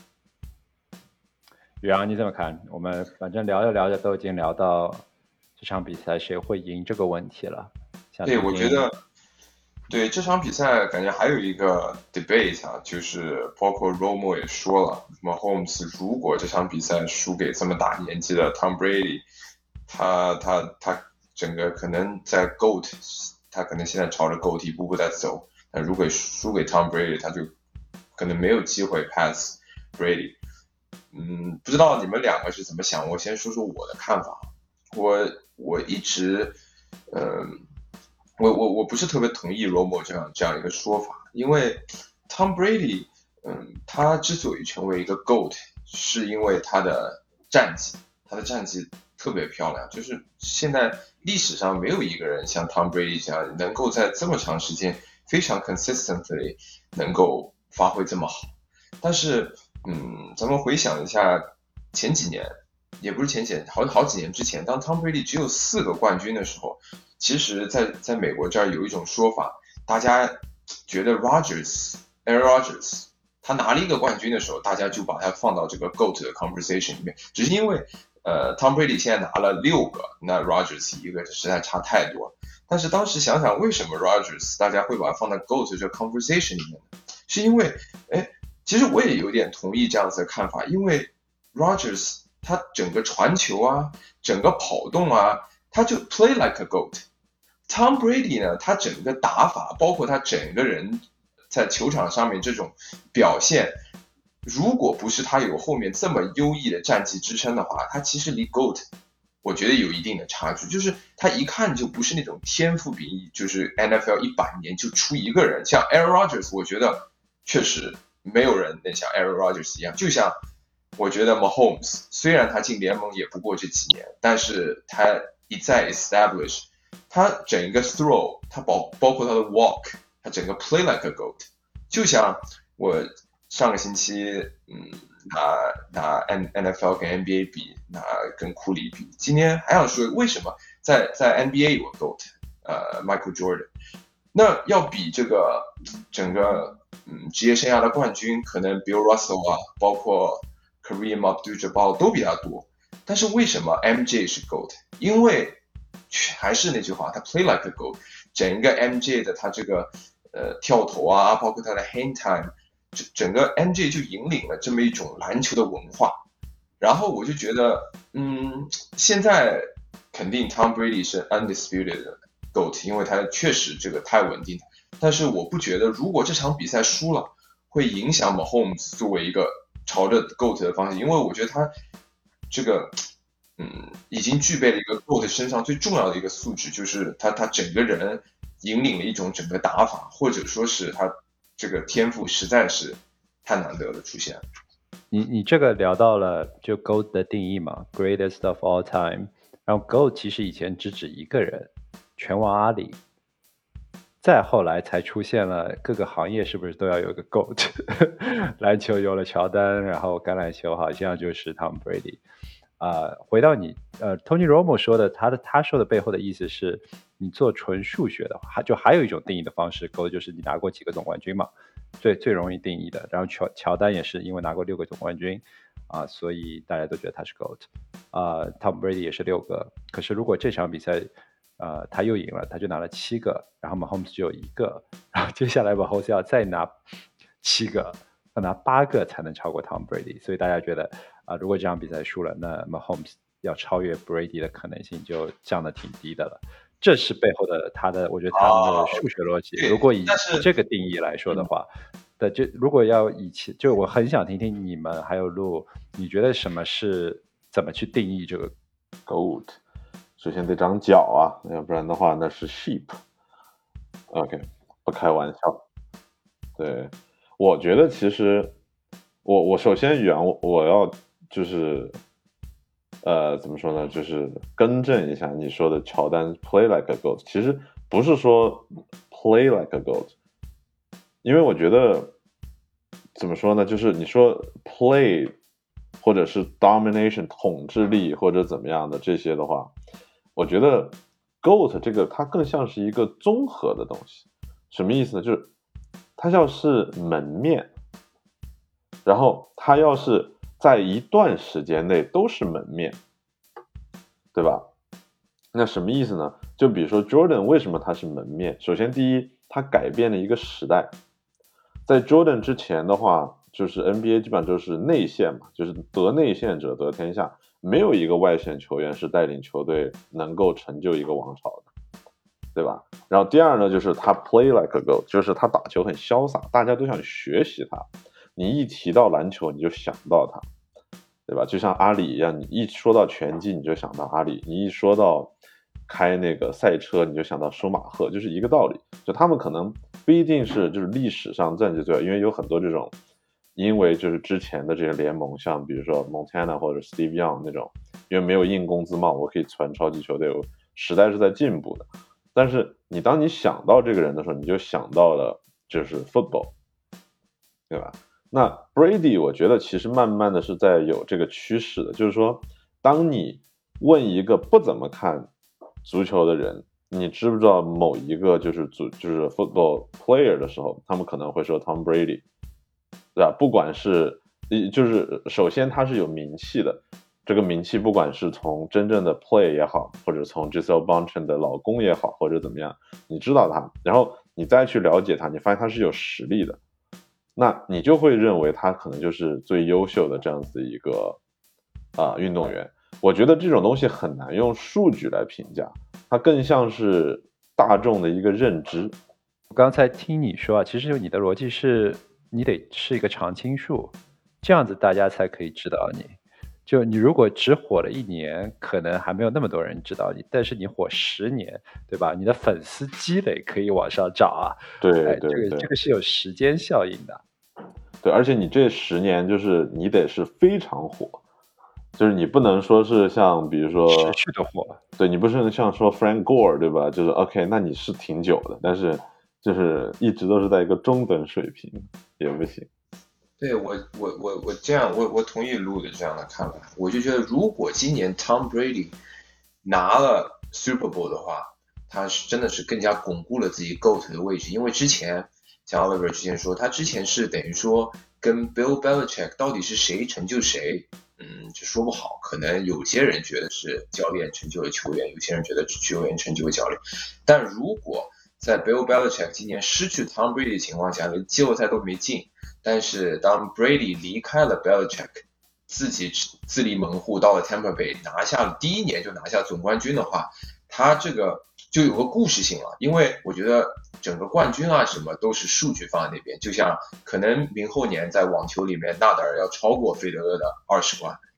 宇阳你怎么看？我们反正聊着聊着都已经聊到这场比赛谁会赢这个问题了。 对，我觉得对这场比赛感觉还有一个 debate 啊，就是包括 Romo 也说了 Mahomes 如果这场比赛输给这么大年纪的 Tom Brady， 他他他整个可能在 GOAT， 他可能现在朝着 GOAT 一步步在走，但如果输给 Tom Brady 他就可能没有机会 pass Brady。嗯，不知道你们两个是怎么想，我先说说我的看法。我我一直嗯、呃我我我不是特别同意 Romo 这样这样一个说法，因为 Tom Brady， 嗯，他之所以成为一个 GOAT， 是因为他的战绩，他的战绩特别漂亮，就是现在历史上没有一个人像 Tom Brady 这样能够在这么长时间非常 consistently 能够发挥这么好。但是，嗯，咱们回想一下前几年，也不是前几年，好好几年之前，当 Tom Brady 只有四个冠军的时候。其实在，在在美国这儿有一种说法，大家觉得 Rodgers、Aaron Rodgers 他拿了一个冠军的时候，大家就把他放到这个 GOAT 的 conversation 里面，只是因为呃 Tom Brady 现在拿了六个，那 Rodgers 一个实在差太多。但是当时想想，为什么 Rodgers 大家会把他放在 GOAT 这个 conversation 里面呢？是因为，哎，其实我也有点同意这样子的看法，因为 Rodgers 他整个传球啊，整个跑动啊。他就 play like a goat。Tom Brady 呢，他整个打法，包括他整个人在球场上面这种表现，如果不是他有后面这么优异的战绩支撑的话，他其实离 goat 我觉得有一定的差距。就是他一看就不是那种天赋比就是 N F L 一百年就出一个人，像 Aaron Rodgers， 我觉得确实没有人能像 Aaron Rodgers 一样。就像我觉得 Mahomes 虽然他进联盟也不过这几年，但是他一再 establish， 他整个 throw， 他包包括他的 walk， 他整个 play like a goat。就像我上个星期，嗯，拿拿 N F L 跟 N B A 比，拿跟库里比，今天还想说为什么在在 N B A 有 goat， 呃 Michael Jordan， 那要比这个整个嗯职业生涯的冠军，可能 Bill Russell 啊，包括 Kareem Abdul-Jabbar 都比他多。但是为什么 M J 是 GOAT？ 因为还是那句话，他 play like a GOAT， 整个 M J 的他这个呃跳投啊，包括他的 hand time， 整个 M J 就引领了这么一种篮球的文化。然后我就觉得，嗯，现在肯定 Tom Brady 是 undisputed 的 GOAT， 因为他确实这个太稳定。但是我不觉得，如果这场比赛输了，会影响 Mahomes 作为一个朝着 GOAT 的方向，因为我觉得他这个嗯已经具备了一个 GOAT 身上最重要的一个素质，就是他他整个人引领了一种整个打法，或者说是他这个天赋实在是太难得的出现。 你你这个聊到了就 GOAT 的定义嘛 ，Greatest of all time， 然后 GOAT 其实以前只指一个人，拳王阿里。再后来才出现了各个行业是不是都要有个 GOAT 篮球有了乔丹，然后橄榄球好像就是 Tom Brady 啊、呃。回到你呃 Tony Romo 说的，他的他说的背后的意思是，你做纯数学的话，就还有一种定义的方式 GOAT 就是你拿过几个总冠军嘛，最最容易定义的。然后乔乔丹也是因为拿过六个总冠军啊、呃，所以大家都觉得他是 GOAT 啊、呃。Tom Brady 也是六个，可是如果这场比赛呃，他又赢了，他就拿了七个，然后 Mahomes 只有一个，然后接下来 Mahomes 要再拿七个，要拿八个才能超过 Tom Brady， 所以大家觉得啊、呃，如果这场比赛输了，那 Mahomes 要超越 Brady 的可能性就降得挺低的了。这是背后的他的，我觉得他们的数学逻辑。 哦、 如果以这个定义来说的话，的就如果要以前，就我很想听听你们还有路，你觉得什么是怎么去定义这个 GOAT？首先得长脚啊，要不然的话那是 sheep。OK， 不开玩笑。对，我觉得其实我我首先远我我要就是呃怎么说呢，就是更正一下你说的乔丹 play like a GOAT， 其实不是说 play like a GOAT， 因为我觉得怎么说呢，就是你说 play 或者是 domination 统治力或者怎么样的这些的话，我觉得 GOAT 这个它更像是一个综合的东西。什么意思呢？就是它要是门面，然后它要是在一段时间内都是门面，对吧？那什么意思呢？就比如说 Jordan 为什么他是门面？首先第一，他改变了一个时代。在 Jordan 之前的话，就是 N B A 基本上就是内线嘛，就是得内线者得天下，没有一个外线球员是带领球队能够成就一个王朝的，对吧？然后第二呢，就是他 play like a GOAT， 就是他打球很潇洒，大家都想学习他。你一提到篮球，你就想到他，对吧？就像阿里一样，你一说到拳击，你就想到阿里；你一说到开那个赛车，你就想到舒马赫，就是一个道理。就他们可能不一定是就是历史上战绩最好，因为有很多这种，因为就是之前的这些联盟，像比如说 Montana 或者 Steve Young 那种，因为没有硬工资帽，我可以传超级球队，时代是在进步的。但是你当你想到这个人的时候，你就想到了就是 football， 对吧？那 Brady 我觉得其实慢慢的是在有这个趋势的，就是说当你问一个不怎么看足球的人，你知不知道某一个就是足就是 football player 的时候，他们可能会说 Tom Brady， 对吧？不管是就是首先他是有名气的，这个名气不管是从真正的 play 也好，或者从 Gisele Bündchen 的老公也好，或者怎么样，你知道他，然后你再去了解他，你发现他是有实力的，那你就会认为他可能就是最优秀的这样子一个啊、呃、运动员。我觉得这种东西很难用数据来评价，它更像是大众的一个认知。 我刚才听你说啊，其实你的逻辑是你得是一个常青树，这样子大家才可以知道你。就你如果只火了一年，可能还没有那么多人知道你，但是你火十年，对吧？你的粉丝积累可以往上涨啊。 对对对， 这个这个是有时间效应的。 对，而且你这十年就是你得是非常火，就是你不能说是像比如说持续的火， 对，你不是像说 Frank Gore 对吧？就是 OK， 那你是挺久的，但是就是一直都是在一个中等水平也不行。 对，我我我我这样我我同意路的这样的看法，我就觉得如果今年 Tom Brady 拿了 Super Bowl 的话，他是真的是更加巩固了自己 GOAT 的位置，因为之前像 Oliver 之前说，他之前是等于说跟 Bill Belichick 到底是谁成就谁，嗯，就说不好，可能有些人觉得是教练成就了球员，有些人觉得球员成就了教练，但如果在 Bill Belichick 今年失去 Tom Brady 的情况下，连季后赛都没进，但是当 Brady 离开了 Belichick， 自己自立门户到了 Tampa Bay， 拿下了第一年就拿下总冠军的话，他这个就有个故事性了，因为我觉得整个冠军啊什么都是数据放在那边，就像可能明后年在网球里面纳达尔要超过费德勒的二十冠，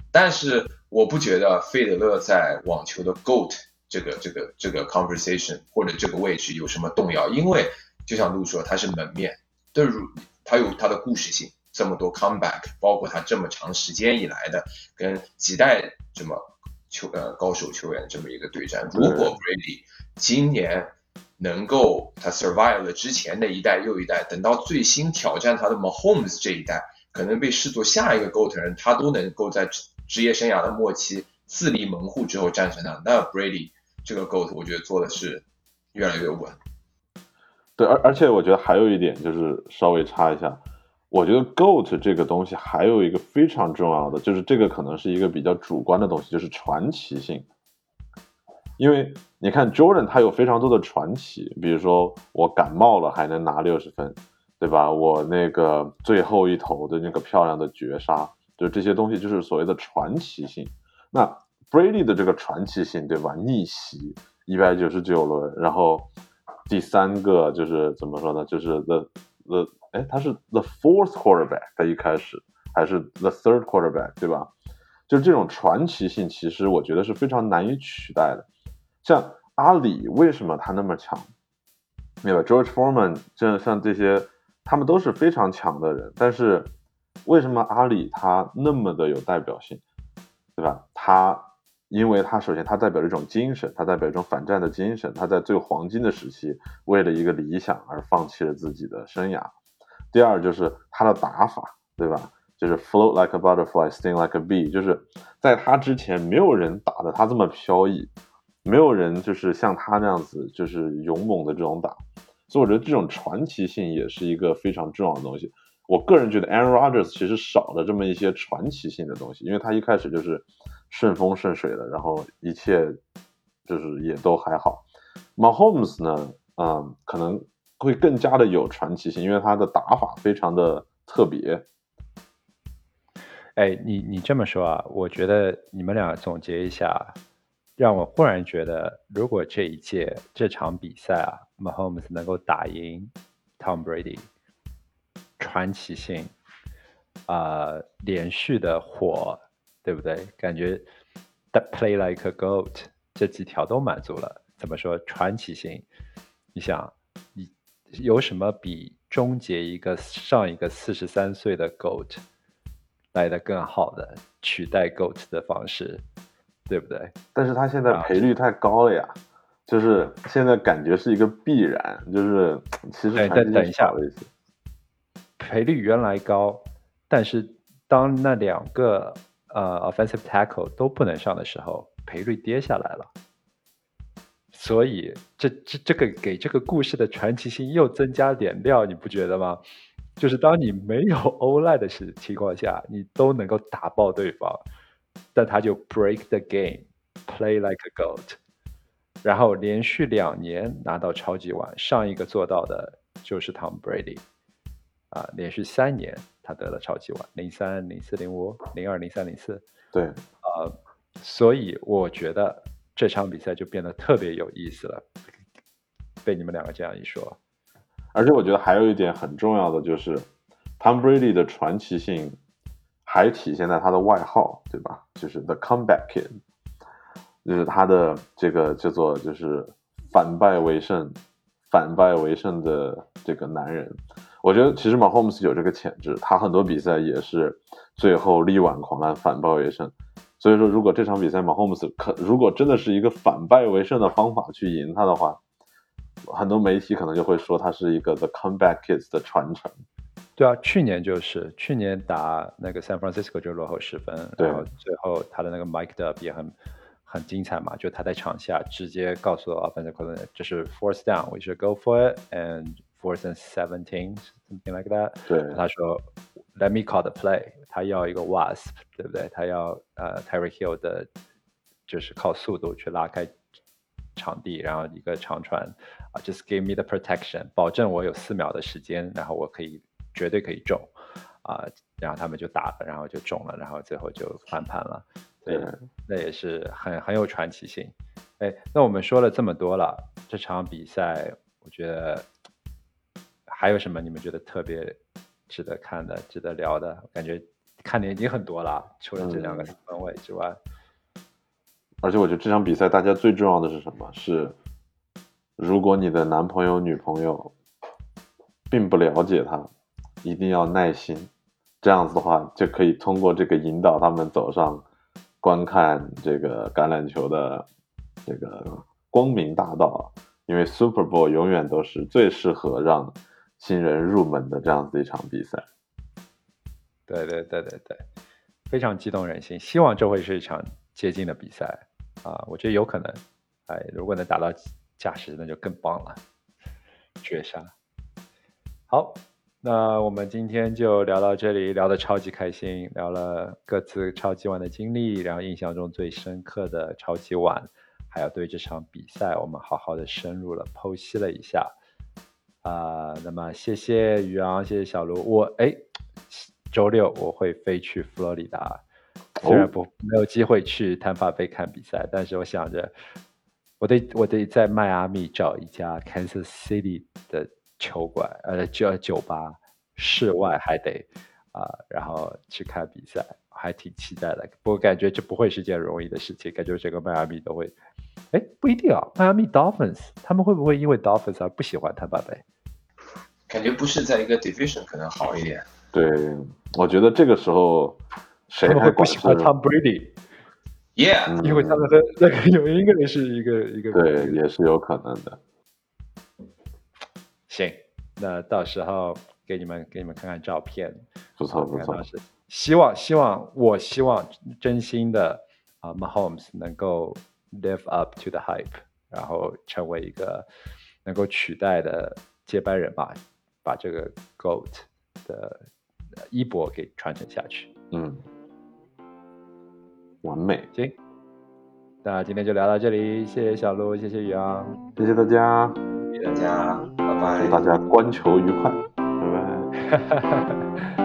但是我不觉得费德勒在网球的 GOAT 这个这个这个 conversation 或者这个位置有什么动摇，因为就像陆说，他是门面，对，他有他的故事性，这么多 comeback， 包括他这么长时间以来的跟几代这么球呃高手球员这么一个对战。如果 Brady 今年能够他 survive 了之前的一代又一代，等到最新挑战他的 Mahomes 这一代，可能被视作下一个 GOAT 人，他都能够在职业生涯的末期自立门户之后战胜他，那 Brady 这个 GOAT 我觉得做的是越来越稳。 对，而而且我觉得还有一点就是稍微插一下，我觉得 GOAT 这个东西还有一个非常重要的，就是这个可能是一个比较主观的东西，就是传奇性。因为你看 Jordan 他有非常多的传奇，比如说我感冒了还能拿六十分，对吧？我那个最后一投的那个漂亮的绝杀，就这些东西就是所谓的传奇性。那 Brady 的这个传奇性，对吧？逆袭一百九十九轮，然后第三个就是怎么说呢？就是 the the 哎，他是 the fourth quarterback， 他一开始还是 the third quarterback， 对吧？就是这种传奇性，其实我觉得是非常难以取代的。像阿里为什么他那么强？对吧 ？George Foreman 这像这些，他们都是非常强的人，但是为什么阿里他那么的有代表性，对吧？他因为他首先他代表一种精神，他代表一种反战的精神，他在最黄金的时期为了一个理想而放弃了自己的生涯。第二就是他的打法，对吧？就是 float like a butterfly, sting like a bee， 就是在他之前没有人打得他这么飘逸。没有人就是像他那样子就是勇猛的这种打，所以我觉得这种传奇性也是一个非常重要的东西。我个人觉得 Aaron Rodgers 其实少了这么一些传奇性的东西，因为他一开始就是顺风顺水的，然后一切就是也都还好。Mahomes 呢，嗯，可能会更加的有传奇性，因为他的打法非常的特别。 哎，你你这么说啊，我觉得你们俩总结一下，让我忽然觉得，如果这一届这场比赛啊 ，Mahomes 能够打赢 Tom Brady， 传奇性啊、呃，连续的火，对不对？感觉 That play like a goat 这几条都满足了。怎么说传奇性？你想，你有什么比终结一个上一个四十三岁的 goat 来的更好的取代 GOAT 的方式，对不对？ 但是他现在赔率太高了呀，啊、就是现在感觉是一个必然，就是其实等等一下， 了一些赔率原来高，但是当那两个呃 offensive tackle 都不能上的时候，赔率跌下来了。所以这这这个给这个故事的传奇性又增加点料，你不觉得吗？就是当你没有 O-line 的情况下，你都能够打爆对方，但他就 break the game, play like a goat， 然后连续两年拿到超级碗，上一个做到的就是 Tom Brady， 啊，连续三年他得了超级碗，零三、零四、零五、零二、零三、零四， 对， 啊，所以我觉得这场比赛就变得特别有意思了，被你们两个这样一说。 而且我觉得还有一点很重要的就是 Tom Brady 的传奇性还体现在他的外号，对吧？就是 The Comeback Kid， 就是他的这个叫做就是反败为胜反败为胜的这个男人。我觉得其实 Mahomes 有这个潜质，他很多比赛也是最后力挽狂澜反败为胜。所以说如果这场比赛 Mahomes 可如果真的是一个反败为胜的方法去赢他的话，很多媒体可能就会说他是一个 The Comeback Kids 的传承。 对啊，去年就是去年打那个 San Francisco 就落后十分，然后最后他的那个 mic'd up 也很很精彩嘛，就他在场下直接告诉 offensive coordinator 这是 fourth down, we should go for it and fourth and seventeen something like that。 对， 他说 Let me call the play， 他要一个 wasp， 对不对？他要呃 Tyreek Hill 的，就是靠速度去拉开场地，然后一个长传啊、uh, ，just give me the protection， 保证我有四秒的时间，然后我可以绝对可以中啊、呃，然后他们就打了，然后就中了，然后最后就翻盘了，所以那也是很很有传奇性。哎，那我们说了这么多了，这场比赛我觉得还有什么你们觉得特别值得看的、值得聊的？感觉看的已经很多了，除了这两个四分卫之外。 嗯、而且我觉得这场比赛大家最重要的是什么？是如果你的男朋友、女朋友并不了解他，一定要耐心。这样子的话，就可以通过这个引导他们走上观看这个橄榄球的这个光明大道。因为 Super Bowl 永远都是最适合让新人入门的这样子的一场比赛。 对对对对对，非常激动人心。希望这会是一场接近的比赛啊，我觉得有可能。哎，如果能打到加时，那就更棒了，绝杀。好。那我们今天就聊到这里，聊得超级开心，聊了各自超级碗的经历，然后印象中最深刻的超级碗，还有对这场比赛我们好好的深入了剖析了一下啊、呃。那么谢谢宇昂，谢谢小卢。我哎，周六我会飞去佛罗里达，虽然不没有机会去坦帕贝看比赛，但是我想着我得我得在迈阿密找一家 Kansas City 的球馆，呃，酒酒吧，室外还得啊、呃，然后去看比赛，还挺期待的。不过感觉这不会是件容易的事情，感觉整个迈阿密都会，哎，不一定啊。迈阿密 Dolphins 他们会不会因为 Dolphins 而不喜欢坦帕贝？ 感觉不是在一个 division 可能好一点。 对，我觉得这个时候谁他们会不喜欢 Tom Brady？Yeah，、嗯、因为他们的那个有一个人是一个一个对，也是有可能的。 行，那到时候给你们给你们看看照片， 不错不错。 希望希望我希望真心的啊、uh, ，Mahomes 能够 live up to the hype， 然后成为一个能够取代的接班人吧，把这个 GOAT 的衣钵给传承下去。 嗯，完美。 行，那今天就聊到这里，谢谢小鹿，谢谢宇昂， 谢谢大家。 大家拜拜， 祝大家观球愉快，拜拜。